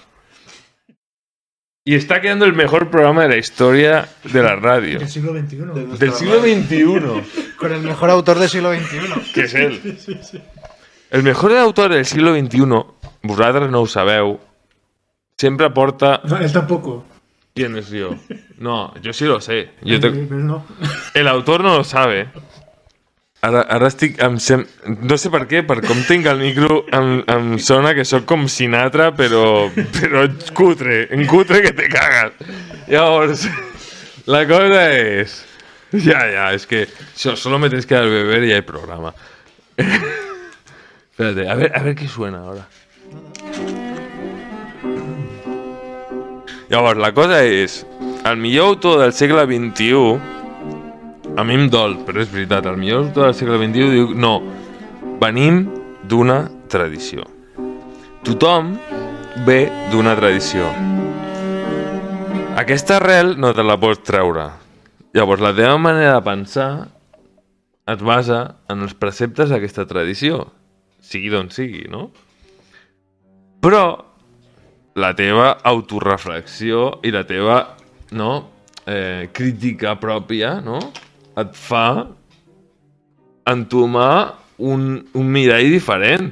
Y está quedando el mejor programa de la historia de la radio. Del siglo XXI. Del siglo XXI. Con el mejor autor del siglo XXI. Que és ell. El mejor autor del siglo XXI, vosaltres no ho sabeu, sempre porta... No, él tampoco. ¿Quién es yo? No, yo sí lo sé. Él no. El autor no lo sabe. Ara estic... No sé per què, per com tinc el micro, em sona que sóc com Sinatra, però cutre. En cutre que te cagas. Llavors, la cosa es... Ya, es que solo me tienes que dar beber y hay programa. Espérate, a ver qué suena ahora. Llavors, la cosa és... El millor autor del segle XXI... A mi em dol, però és veritat. El millor autor del segle XXI diu... No, venim d'una tradició. Tothom ve d'una tradició. Aquesta arrel no te la pots treure. Llavors, la teva manera de pensar es basa en els preceptes d'aquesta tradició. Sigui d'on sigui, no? Però la teva autoreflexió i la teva crítica pròpia, no? Et fa entomar un mirall diferent.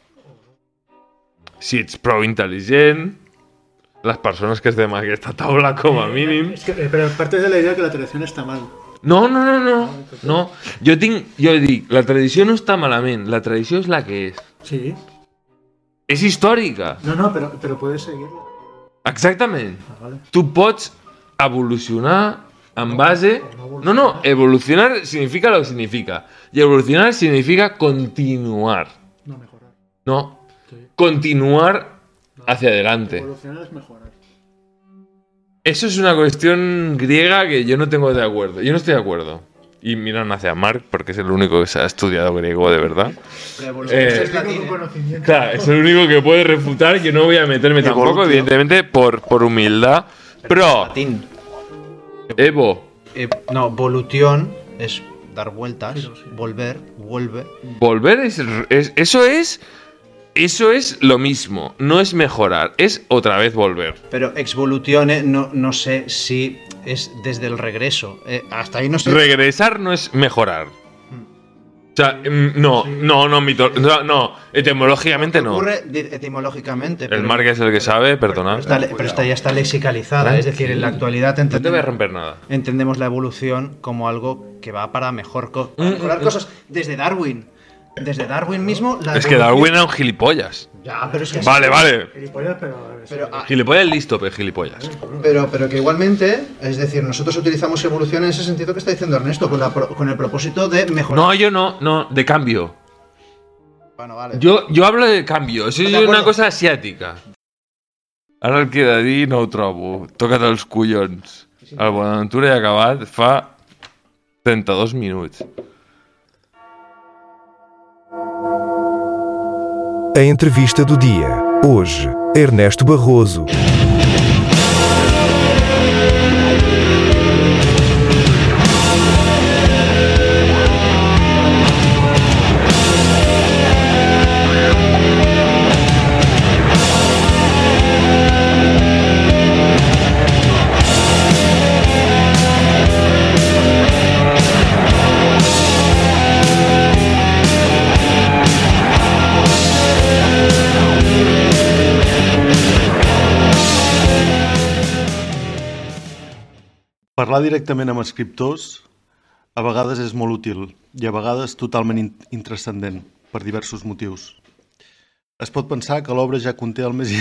Si ets prou intel·ligent, les persones que estem a aquesta taula com a mínim... Pero parte de la idea que la tradición está mal. No. Jo dic, la tradició no està malament, la tradició és la que és. Sí. És històrica. No, pero puedes seguirla. Exactament. Vale. Tu pots evolucionar en base... No, evolucionar significa lo que significa. Y evolucionar significa continuar. No, mejorar. No, Sí. continuar hacia adelante. Evolucionar es mejorar. Eso es una cuestión griega que yo no tengo de acuerdo. Yo no estoy de acuerdo. Y miran hacia Marc, porque es el único que se ha estudiado griego de verdad. Es latín. Claro, es el único que puede refutar, que no voy a meterme tampoco, evidentemente, por humildad. Pero, Latín. Evo, No, volución es dar vueltas, volver, vuelve. volver eso es lo mismo. No es mejorar, es otra vez volver. Pero exvoluzione no sé si es desde el regreso. Hasta ahí no sé. Regresar no es mejorar. O sea, no, etimológicamente no. Ocurre etimológicamente. El Marc es el que sabe, perdonad. Pero esta ya está lexicalizada, es decir, en la actualidad No te voy a romper nada. entendemos la evolución como algo que va para mejorar cosas. Desde Darwin. Desde Darwin mismo. Es que Darwin era un gilipollas. Ya, pero es que Vale. Gilipollas, Pero, Gilipollas listo, pero gilipollas. pero que igualmente, es decir, nosotros utilizamos evolución en ese sentido que está diciendo Ernesto, con el propósito de mejorar. No, yo no, de cambio. Bueno, vale. Jo hablo de cambio, això és D'acord. una cosa asiàtica. Ara el que he de dir no ho trobo. Toca't els collons. El Bonaventura he acabat fa 32 minuts. A entrevista do dia. Hoje, Ernesto Barroso. Parlar directament amb escriptors a vegades és molt útil i a vegades totalment intranscendent per diversos motius. Es pot pensar que l'obra ja conté el més...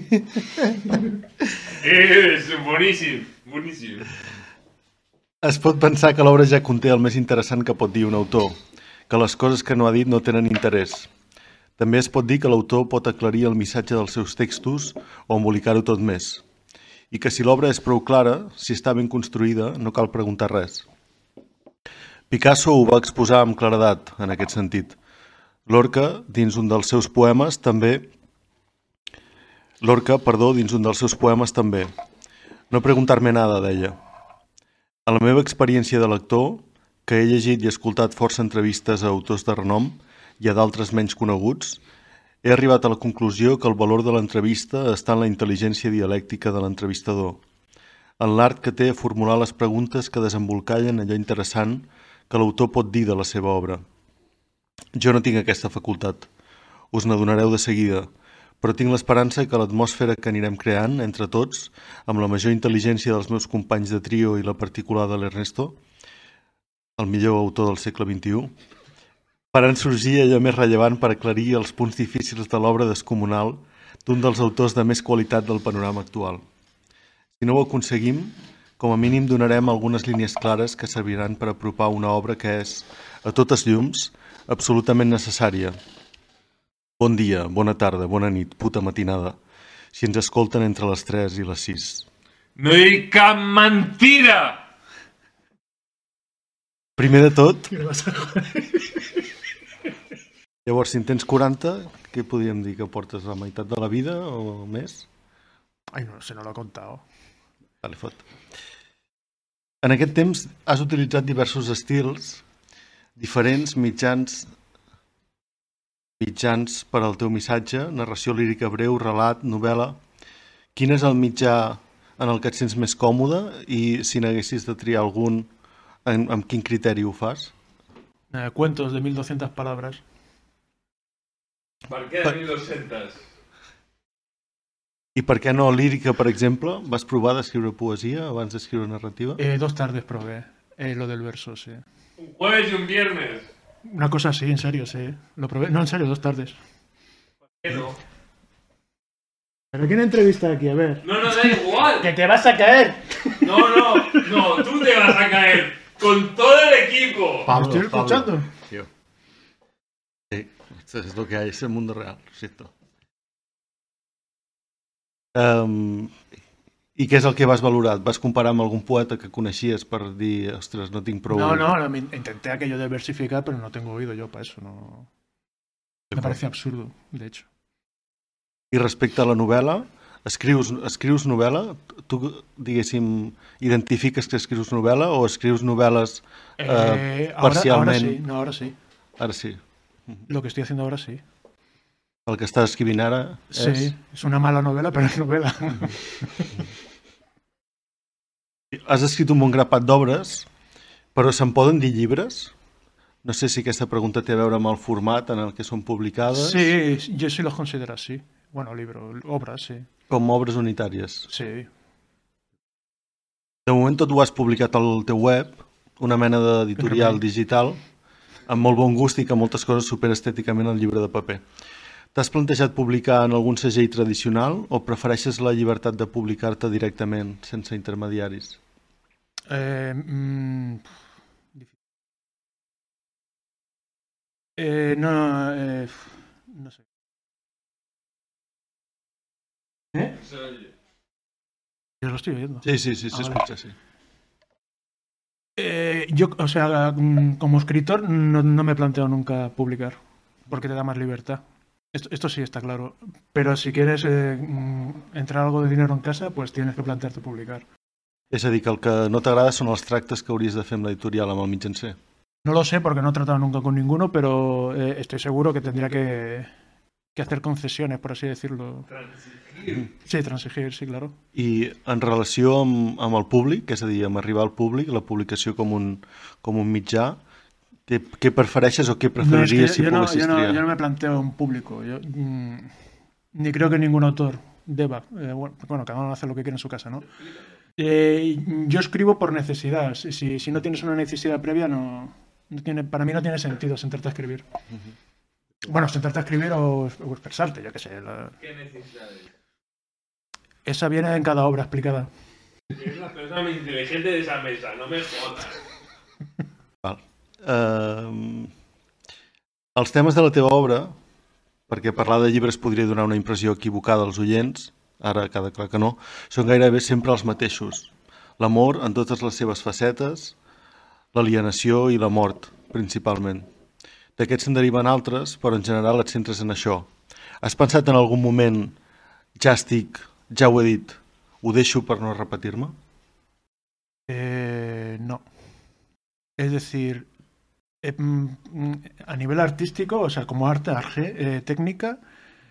És boníssim. Es pot pensar que l'obra ja conté el més interessant que pot dir un autor, que les coses que no ha dit no tenen interès. També es pot dir que l'autor pot aclarir el missatge dels seus textos o embolicar-ho tot més. I que si l'obra és prou clara, si està ben construïda, no cal preguntar res. Picasso ho va exposar amb claredat, en aquest sentit. Lorca, dins un dels seus poemes, també... No preguntar-me nada, deia. A la meva experiència de lector, que he llegit i escoltat força entrevistes a autors de renom i a d'altres menys coneguts, He arribat a la conclusió que el valor de l'entrevista està en la intel·ligència dialèctica de l'entrevistador, en l'art que té a formular les preguntes que desembolcallen allò interessant que l'autor pot dir de la seva obra. Jo no tinc aquesta facultat, us n'adonareu de seguida, però tinc l'esperança que l'atmosfera que anirem creant entre tots, amb la major intel·ligència dels meus companys de trio i la particular de l'Ernesto, el millor autor del segle XXI, faran sorgir allò més rellevant per aclarir els punts difícils de l'obra descomunal d'un dels autors de més qualitat del panorama actual. Si no ho aconseguim, com a mínim donarem algunes línies clares que serviran per apropar una obra que és, a totes llums, absolutament necessària. Bon dia, bona tarda, bona nit, puta matinada, si ens escolten entre les 3 i les 6. No dic cap mentida! Primer de tot... Llavors, si en tens 40, què podríem dir? Que portes la meitat de la vida o més? Ai, no sé, no lo he contado. Vale, fot. En aquest temps has utilitzat diversos estils, diferents mitjans per al teu missatge, narració lírica breu, relat, novel·la. Quin és el mitjà en el que et sents més còmode i si n'haguessis de triar algun, amb quin criteri ho fas? Cuentos de 1200 palabras. Per què 1200? I per què no lírica, per exemple? Vas provar d'escriure poesia abans d'escriure narrativa? 2 tardes probé lo del verso, sí. Un jueves y un viernes. Una cosa así, en serio, sí. Lo probé. No, en serio, 2 tardes. ¿Por qué no? ¿Pero quién entrevista aquí? A ver. No, da igual. ¡Que te vas a caer! No, tú te vas a caer. Con todo el equipo. ¿Me estoy escuchando? Tío. Sí, esto es lo que hay, es el mundo real, lo siento. I què és el que vas valorar? Et vas comparar amb algun poeta que coneixies per dir, ostres, no tinc prou... No, intenté aquello de versificar, pero no tengo oído yo para eso, no... Me parece absurdo, de hecho. I respecte a la novel·la, escrius novel·la? Tu, diguéssim, identifiques que escrius novel·la o escrius novel·les parcialment? Ahora sí. Ara sí. Lo que estoy haciendo ahora sí. El que estàs escrivint ara és... Sí, és una mala novel·la, però és novel·la. Has escrit un bon grapat d'obres, però se'n poden dir llibres? No sé si aquesta pregunta té a veure amb el format en el que són publicades. Sí, yo sí los considero así. Bueno, obras, sí. Com obres unitàries. Sí. De moment tot ho has publicat al teu web, una mena d'editorial digital, amb molt bon gust i que moltes coses supera estèticament el llibre de paper. T'has plantejat publicar en algun segell tradicional o prefereixes la llibertat de publicar-te directament, sense intermediaris? No sé. Yo lo estoy oyendo. Sí, se escucha, sí. Yo, o sea, como escritor no me planteo nunca publicar, porque te da más libertad. Esto sí está claro. Pero si quieres entrar algo de dinero en casa, pues tienes que plantearte publicar. És a dir, que el que no t'agrada són els tractes que hauries de fer amb l'editorial, amb el mitjancer. No lo sé porque no he tratado nunca con ninguno, pero estoy seguro que tendría que hacer concesiones, por así decirlo. Transigir. Sí, transigir, sí, claro. I en relació amb el públic, és a dir, amb arribar al públic, la publicació com un mitjà, què prefereixes o què preferiries si poguessis triar? Yo no me planteo un público. Ni creo que ningún autor deba. Bueno, cada uno hace lo que quiere en su casa, ¿no? Yo escribo por necesidad. Si no tienes una necesidad previa, para mí no tiene sentido sentarte a escribir. Bueno, sentarte a escribir o expresarte, yo qué sé. ¿Qué necesidades? Esa viene en cada obra explicada. Eres la persona más inteligente de esa mesa, no me jodas. Val. Els temes de la teva obra, perquè parlar de llibres podria donar una impressió equivocada als oients, ara queda clar que no, són gairebé sempre els mateixos. L'amor en totes les seves facetes, l'alienació i la mort, principalment. D'aquests se'n deriven altres, però en general et centres en això. Has pensat en algun moment, ja ho he dit, ho deixo per no repetir-me? No. Es decir, a nivel artístico, o sea, como arte, técnica,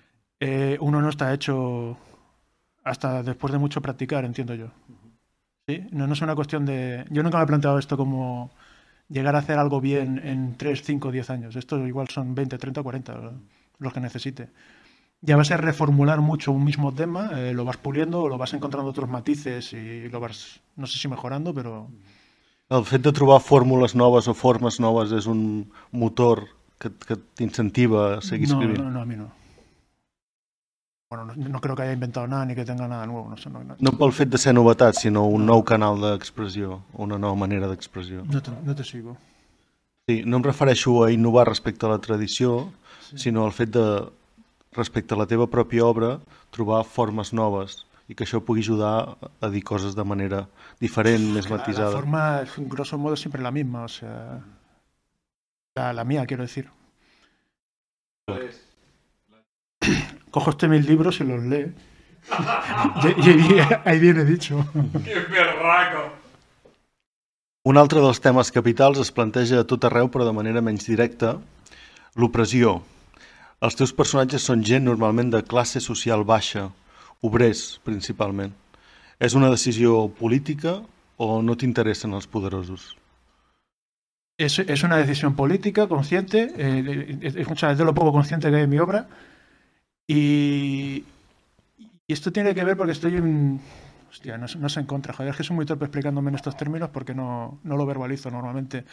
uno no está hecho hasta después de mucho practicar, entiendo yo. ¿Sí? No es una cuestión de... Yo nunca me he planteado esto como llegar a hacer algo bien en 3, 5, 10 años. Esto igual son 20, 30, 40 los que necesite. Ya va a ser reformular mucho un mismo tema, lo vas puliendo, lo vas encontrando otros matices i lo vas, no sé si mejorando, però... El fet de trobar fórmules noves o formes noves és un motor que t'incentiva a seguir escrivint? No, a mí no. Bueno, no creo que haya inventado nada ni que tenga nada nuevo. No pel fet de ser novetat, sinó un nou canal d'expressió, una nova manera d'expressió. No te sigo. Sí, no em refereixo a innovar respecte a la tradició, sinó al fet de, respecte a la teva pròpia obra, trobar formes noves i que això pugui ajudar a dir coses de manera diferent, més matisada. La forma, grosso modo, es siempre la misma, o sea... La mía, quiero decir. Cojo 1000 libros y los lee. y ahí viene dicho. ¡Qué berraco! Un altre dels temes capitals es planteja a tot arreu, però de manera menys directa, l'opressió. Els teus personatges són gent normalment de classe social baixa, obrers principalment. És una decisió política o no t'interessen els poderosos? Es una decisión política, consciente, es de lo poco consciente que hay en mi obra. Y esto tiene que ver porque estoy en... Hostia, no sé en contra, joder, es que soy muy torpe explicándome en estos términos porque no lo verbalizo normalmente.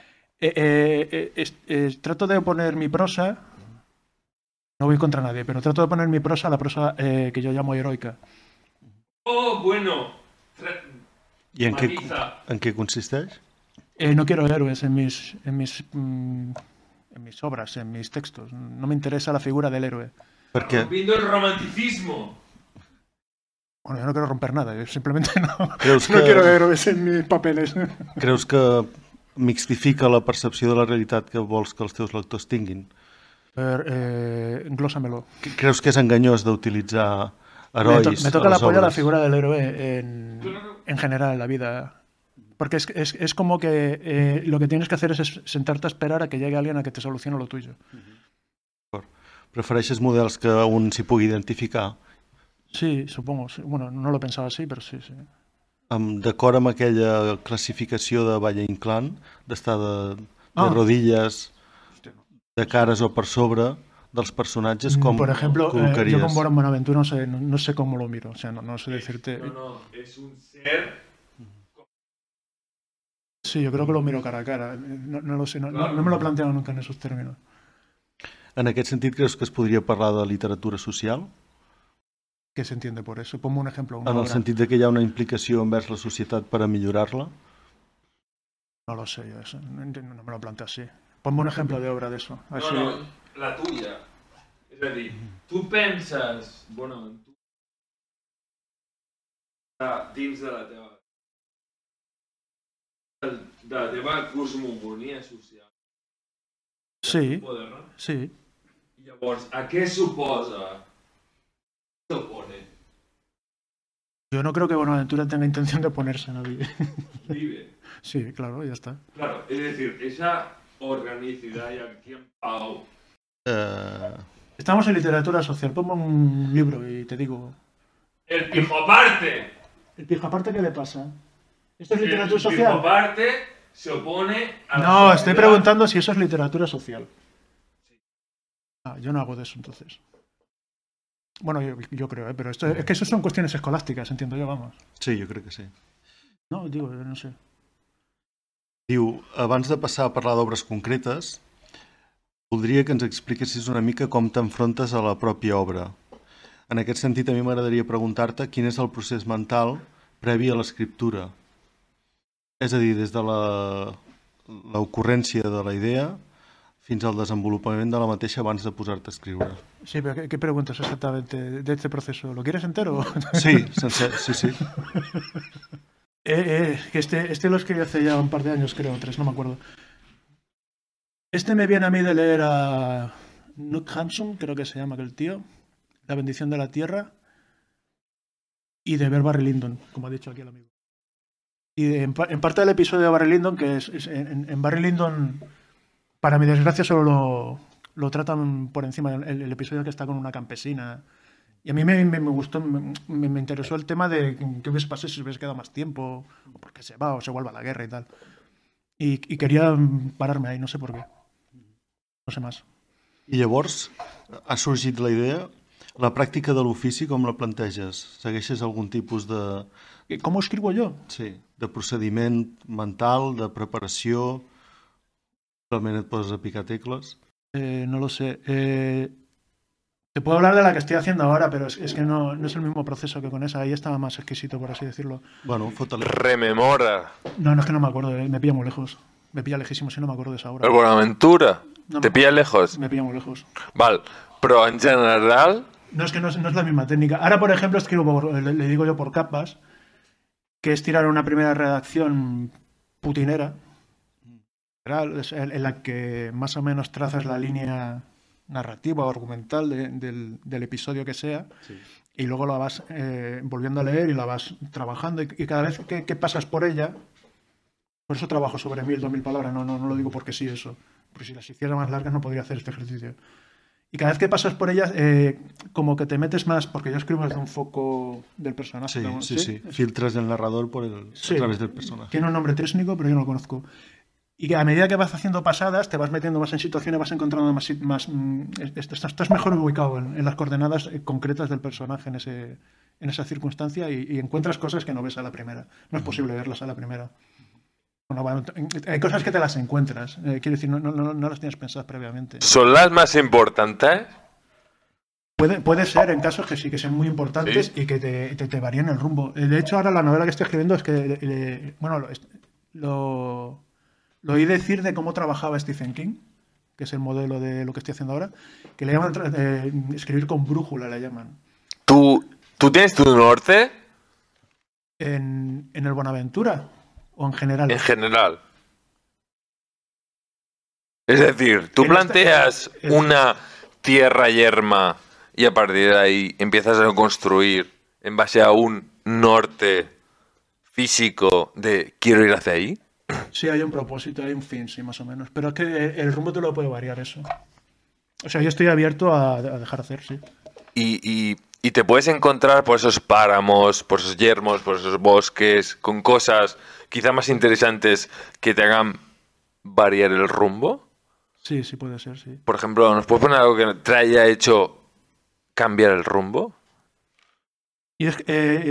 Trato de poner mi prosa, no voy contra nadie, pero trato de poner mi prosa a la prosa que yo llamo heroica. Oh, bueno. I en què consisteix? No quiero héroes en mis obras, en mis textos. No me interesa la figura del héroe. ¿Por qué? Rompiendo el romanticismo. Bueno, yo no quiero romper nada, yo simplemente no quiero héroes en mis papeles. Creus que mixtifica la percepció de la realitat que vols que els teus lectors tinguin? Englósamelo. Creus que és enganyós d'utilitzar herois? Me toca la polla la figura del héroe en general en la vida. Porque es como que lo que tienes que hacer es sentarte a esperar a que llegue alguien a que te solucione lo tuyo. Prefereixes models que un s'hi pugui identificar? Sí, supongo. Sí. Bueno, no lo pensaba así, pero sí. D'acord amb aquella classificació de Valle Inclán, d'estar de rodilles, de cares o per sobre dels personatges, com por ejemplo, col·locaries? Yo con Buenaventura no sé cómo lo miro, o sea, no sé decirte... No, es un ser... Sí, yo creo que lo miro cara a cara, no lo sé, no me lo he planteado nunca en esos términos. En aquest sentit, creus que es podria parlar de literatura social? Què s'entiende por eso? Ponme un ejemplo. En el sentit de que hi ha una implicació envers la societat per a millorar-la? No lo sé, yo eso no me lo planteo así. Ponme un ejemplo de obra de eso. No, la tuya. És a dir, tu penses, bueno, dins de la teva cosmogonia social. Sí, sí. Llavors, a què suposa? ¿Qué opone? Yo no creo que Buenaventura tenga intención de oponerse a nadie. Vive. Sí, claro, ya está. Claro, es decir, esa organicidad y aquí en Pau. Estamos en literatura social. Ponme un libro y te digo. ¡El pijoparte! ¿El pijoparte qué le pasa? ¿Esto es literatura social? El pijoparte se opone a la No, sociedad. estoy preguntando si eso es literatura social. Yo no hago de eso entonces. Bueno, yo creo, pero esto es que eso son cuestiones escolásticas, entiendo yo, vamos. Sí, jo crec que sí. No, digo, no sé. Diu, abans de passar a parlar d'obres concretes, voldria que ens expliquessis una mica com t'enfrontes a la pròpia obra. En aquest sentit, a mi m'agradaria preguntar-te quin és el procés mental previ a l'escriptura. És a dir, des de l'ocurrència de la idea fins al desenvolupament de la mateixa abans de posar-te a escriure. Sí, pero ¿qué preguntas exactamente de este proceso? ¿Lo quieres entero? Sí, sí. Que este lo escribí hace ya un par de años, creo, 3, no me acuerdo. Este me viene a mí de leer a Knut Hamsun, creo que se llama aquel tío, La bendición de la tierra, y de ver Barry Lyndon, como ha dicho aquí el amigo. Y en parte del episodio de Barry Lyndon, que en Barry Lyndon, para mi desgracia, solo Lo tratan por encima, el episodio que está con una campesina. Y a mí me gustó, me interesó el tema de qué hubiese pasado si hubiese quedado más tiempo, o por qué se va, o se vuelve a la guerra y tal. Y quería pararme ahí, no sé por qué. No sé más. I llavors ha sorgit la idea, la pràctica de l'ofici com la planteges? Segueixes algun tipus de... ¿Cómo escribo yo? Sí, de procediment mental, de preparació... Realment et poses a picar tecles? No lo sé. Te puedo hablar de la que estoy haciendo ahora, pero es que no es el mismo proceso que con esa. Ahí estaba más exquisito, por así decirlo. Bueno, fótale. Rememora. No, es que no me acuerdo. Me pilla muy lejos. Me pilla lejísimo si no me acuerdo de esa obra. El Bonaventura. No ¿Te pilla lejos? Me pilla muy lejos. Val, però en general... No, es que no es la misma técnica. Ahora, por ejemplo, escribo, le digo yo por capas, que es tirar una primera redacción putinera, en la que más o menos trazas la línea narrativa o argumental del episodio que sea, sí. Y luego la vas volviendo a leer y la vas trabajando, y cada vez que pasas por ella, por eso trabajo sobre 1000, 2000 palabras, no lo digo porque sí eso, porque si las hiciera más largas no podría hacer este ejercicio. Y cada vez que pasas por ellas, como que te metes más, porque yo escribo desde un foco del personaje. Sí, ¿no? Sí. Filtras el narrador a través del personaje. Tiene un nombre técnico, pero yo no lo conozco. Y que a medida que vas haciendo pasadas, te vas metiendo más en situaciones, vas encontrando más estás mejor ubicado en las coordenadas concretas del personaje en esa circunstancia y encuentras cosas que no ves a la primera. No es posible verlas a la primera. Bueno, hay cosas que te las encuentras. Quiero decir, no las tienes pensadas previamente. ¿Son las más importantes? Puede ser en casos que sí que sean muy importantes, ¿sí? Y que te varíen el rumbo. De hecho, ahora la novela que estoy escribiendo es que... lo oí decir de cómo trabajaba Stephen King, que es el modelo de lo que estoy haciendo ahora, que le llaman escribir con brújula, le llaman. ¿Tú tienes tu norte? ¿En el Bonaventura? ¿O en general? En general. Es decir, tú planteas una tierra yerma y a partir de ahí empiezas a construir en base a un norte físico de quiero ir hacia ahí. Sí, hay un propósito, hay un fin, sí, más o menos. Pero es que el rumbo te lo puede variar eso. O sea, yo estoy abierto a dejar hacer, sí. Y te puedes encontrar por esos páramos, por esos yermos, por esos bosques, con cosas quizá más interesantes que te hagan variar el rumbo. Sí, puede ser, sí. Por ejemplo, ¿nos puedes poner algo que te haya hecho cambiar el rumbo? Y es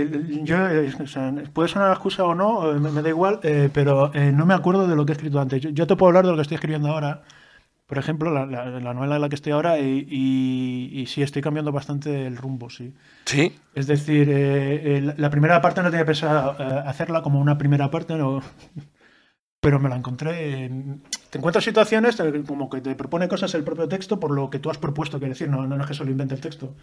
o sea, puede sonar la excusa o no, me da igual, pero no me acuerdo de lo que he escrito antes. Yo te puedo hablar de lo que estoy escribiendo ahora. Por ejemplo, la novela en la que estoy ahora y sí, estoy cambiando bastante el rumbo, sí. ¿Sí? Es decir, la primera parte no tenía pensado hacerla como una primera parte, no, pero me la encontré. Te encuentras situaciones como que te propone cosas el propio texto por lo que tú has propuesto, quiero decir, no es que solo invente el texto.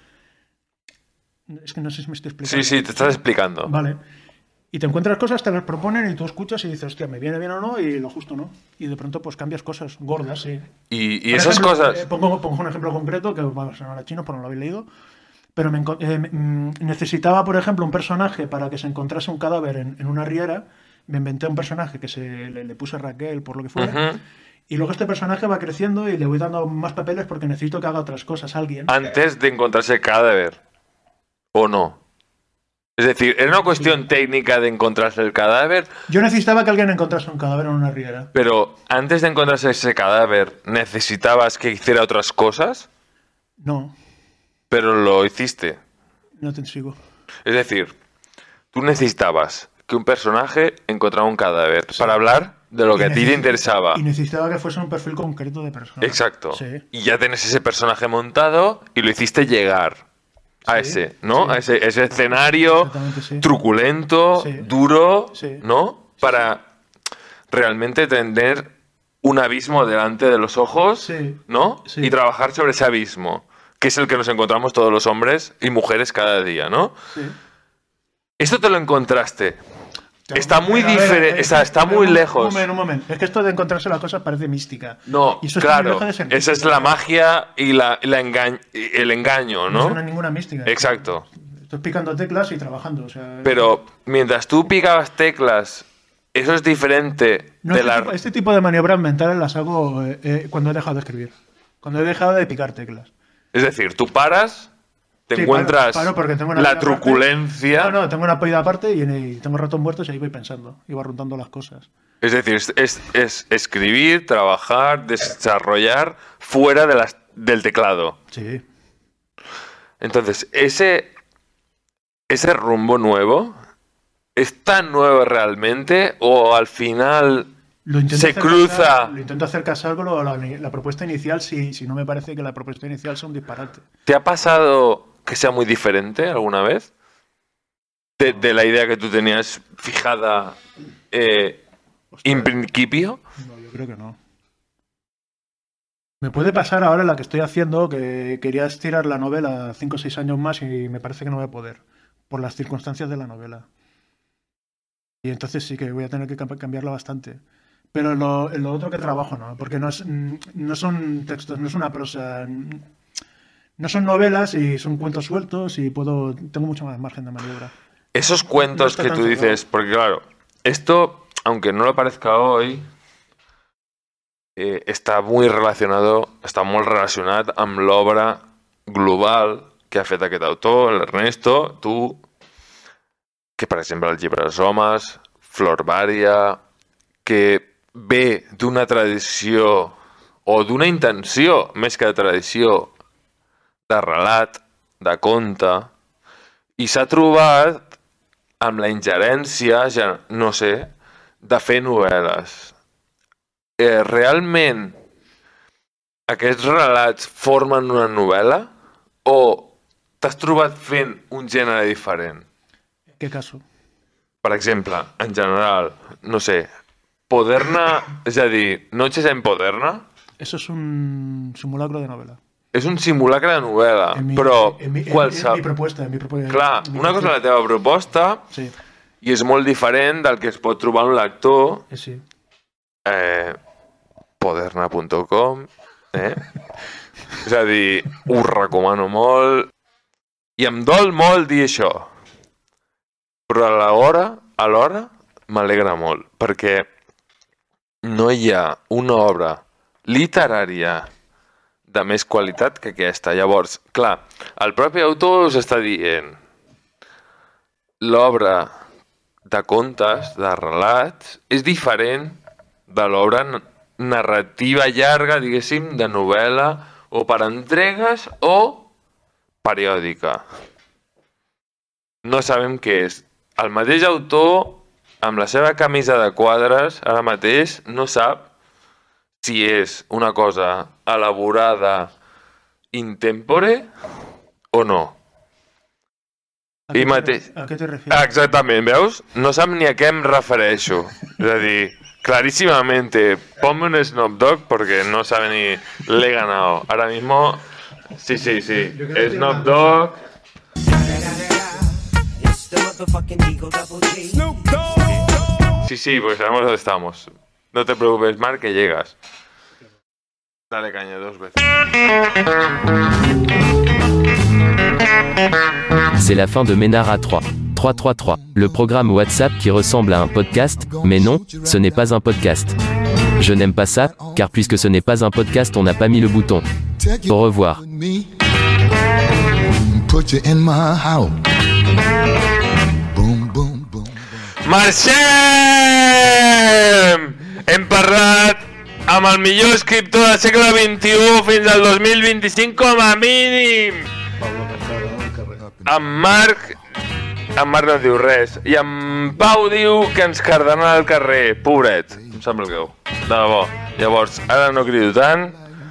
Es que no sé si me estoy explicando. Sí, te estás explicando. Vale. Y te encuentras cosas, te las proponen y tú escuchas y dices, hostia, me viene bien o no, y lo justo no. Y de pronto pues cambias cosas gordas, sí. Y esas cosas... Pongo un ejemplo concreto, que va a sonar a chino, pero no lo habéis leído. Pero necesitaba, por ejemplo, un personaje para que se encontrase un cadáver en una riera. Me inventé un personaje que le puse Raquel, por lo que fuera. Y luego este personaje va creciendo y le voy dando más papeles porque necesito que haga otras cosas alguien. Antes de encontrarse el cadáver, ¿o no? Es decir, ¿era una cuestión técnica de encontrarse el cadáver? Yo necesitaba que alguien encontrase un cadáver en una riera. Pero antes de encontrarse ese cadáver, ¿necesitabas que hiciera otras cosas? No. Pero lo hiciste. No te sigo. Es decir, tú necesitabas que un personaje encontrara un cadáver para hablar de lo que a ti te interesaba. Y necesitaba que fuese un perfil concreto de persona. Exacto. Sí. Y ya tenés ese personaje montado y lo hiciste llegar a ese, ¿no? Sí. A ese escenario truculento, duro, ¿no? Para realmente tener un abismo delante de los ojos, ¿no? Sí. Y trabajar sobre ese abismo, que es el que nos encontramos todos los hombres y mujeres cada día, ¿no? Sí. Esto te lo encontraste. Está muy diferente, está muy lejos. Un momento. Es que esto de encontrarse las cosas parece mística. No, y eso claro. Esa es la magia y el engaño, ¿no? No es ninguna mística. Exacto. Estoy picando teclas y trabajando. O sea, pero mientras tú picabas teclas, eso es diferente este tipo de maniobras mentales las hago cuando he dejado de escribir. Cuando he dejado de picar teclas. Es decir, tú paras, te Sí, encuentras paro porque tengo una la vida aparte. truculencia. No, tengo una polla aparte y tengo ratos muertos y ahí voy pensando. Y voy rotando las cosas. Es decir, es escribir, trabajar, desarrollar fuera del teclado. Sí. Entonces, ese rumbo nuevo, ¿es tan nuevo realmente o al final Lo intento se hacer cruza? casar- lo intento hacer casar con la propuesta inicial si no me parece que la propuesta inicial sea un disparate. ¿Te ha pasado que sea muy diferente alguna vez? De la idea que tú tenías fijada en principio. No, yo creo que no. Me puede pasar ahora la que estoy haciendo, que quería estirar la novela 5 o 6 años más y me parece que no voy a poder, por las circunstancias de la novela. Y entonces sí que voy a tener que cambiarla bastante. Pero en lo otro que trabajo no, porque no son textos, no es una prosa, no son novelas y son cuentos sueltos y tengo mucho más margen de maniobra. Esos No cuentos está que tan tú dices, porque claro, esto, aunque no lo parezca hoy, està molt relacionat amb l'obra global que ha fet aquest autor, l'Ernesto, tu, que per exemple el llibre dels homes, Flor Vària, que ve d'una tradició o d'una intenció, més que de tradició, de relat, de conte, i s'ha trobat amb la ingerència, ja no sé, de fer novel·les. Realment aquests relats formen una novel·la o t'has trobat fent un gènere diferent? ¿Qué caso? Per exemple, en general, no sé, Poderna, és a dir, Noches en Poderna, Eso es un simulacro de novela. és un simulacre de novel·la, però en mi propuesta. Clar, una cosa és la teva proposta Sí, i és molt diferent del que es pot trobar un lector sí. Poderna.com és a dir, ho recomano molt i em dol molt dir això, però alhora m'alegra molt perquè no hi ha una obra literària de més qualitat que aquesta. Llavors, clar, el propi autor us està dient l'obra de contes, de relats, és diferent de l'obra narrativa llarga, diguéssim, de novel·la o per entregues o periòdica. No sabem què és. El mateix autor, amb la seva camisa de quadres, ara mateix no sap si és una cosa elaborada in tempore o no. ¿A qué te refieres? Exactament, veus? No sap ni a què em refereixo. És a dir, clarísimamente, ponme un Snoop Dogg porque no sabe ni le he ganado. Ahora mismo, sí. Snoop Dogg. Sí, pues sabemos dónde estamos. No te preocupes, Marc, que llegas. Dale caña 2 veces. C'est la fin de Ménard à 3. 333, le programme WhatsApp qui ressemble à un podcast, mais non, ce n'est pas un podcast. Je n'aime pas ça, car puisque ce n'est pas un podcast, on n'a pas mis le bouton. Au revoir. Marxem! Hem parlat amb el millor escriptor del segle XXI fins al 2025 com a mínim. En Marc no diu res. I en Pau diu que ens cardarà al carrer. Pobret, em sembla greu. De debò. Llavors, ara no crido tant.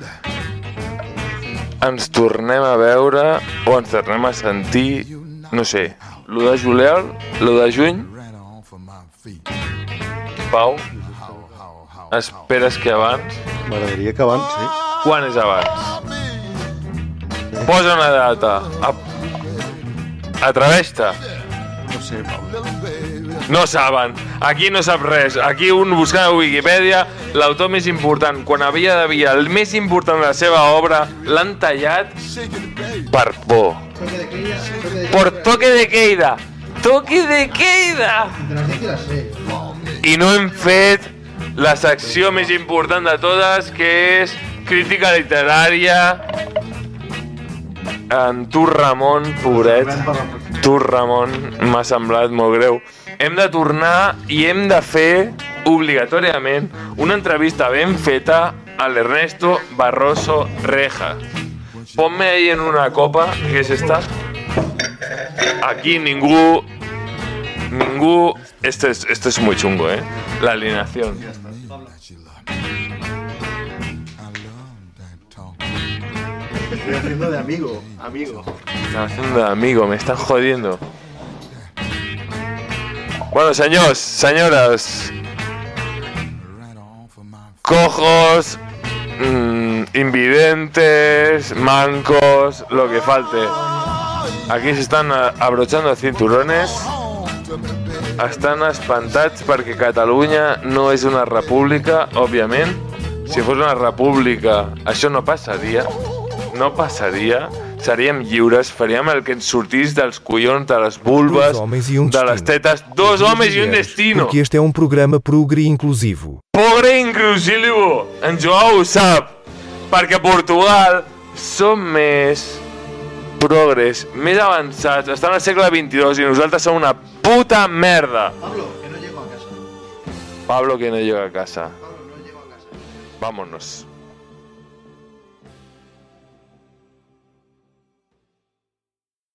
Ens tornem a veure o ens tornem a sentir, no sé, l'1 de juliol, l'1 de juny. Pau, esperes que abans? M'agradaria que abans, sí. Quan és abans? Posa una data. Atreveix-te. No sé, Pau. No saben. Aquí no sap res. Aquí un buscant a Wikipedia l'autor més important. Quan havia d'haver el més important de la seva obra, l'han tallat per por. Por toque de queda. Toque de queda! I no hem fet la secció més important de totes, que és crítica literària, en tu Ramon, pobret, tu Ramon, m'ha semblat molt greu. Hem de tornar i hem de fer obligatòriament una entrevista ben feta a l'Ernesto Barroso Reja. Ponme ahí en una copa, que es esta. Aquí ningú... Esto es muy chungo, la alineación. Estoy haciendo de amigo. Están haciendo de amigo, me están jodiendo. Bueno, senyors, senyores, cojos, invidentes, mancos, lo que falte. Aquí se están abrochando cinturones. Estan espantats perquè Catalunya no és una república, òbviament. Si fos una república, això no passaria. No passaria. Seríem lliures, faríem el que ens sortís dels collons, de les vulves, de les tetes. Dos homes i un destino. Porque este é um programa progre inclusivo. Progre inclusivo! En Joao ho sap. Perquè a Portugal som més progres, més avançats, estan al segle XXII i nosaltres som una puta merda. Pablo, que no llego a casa. Pablo, que no llega a casa. Vámonos.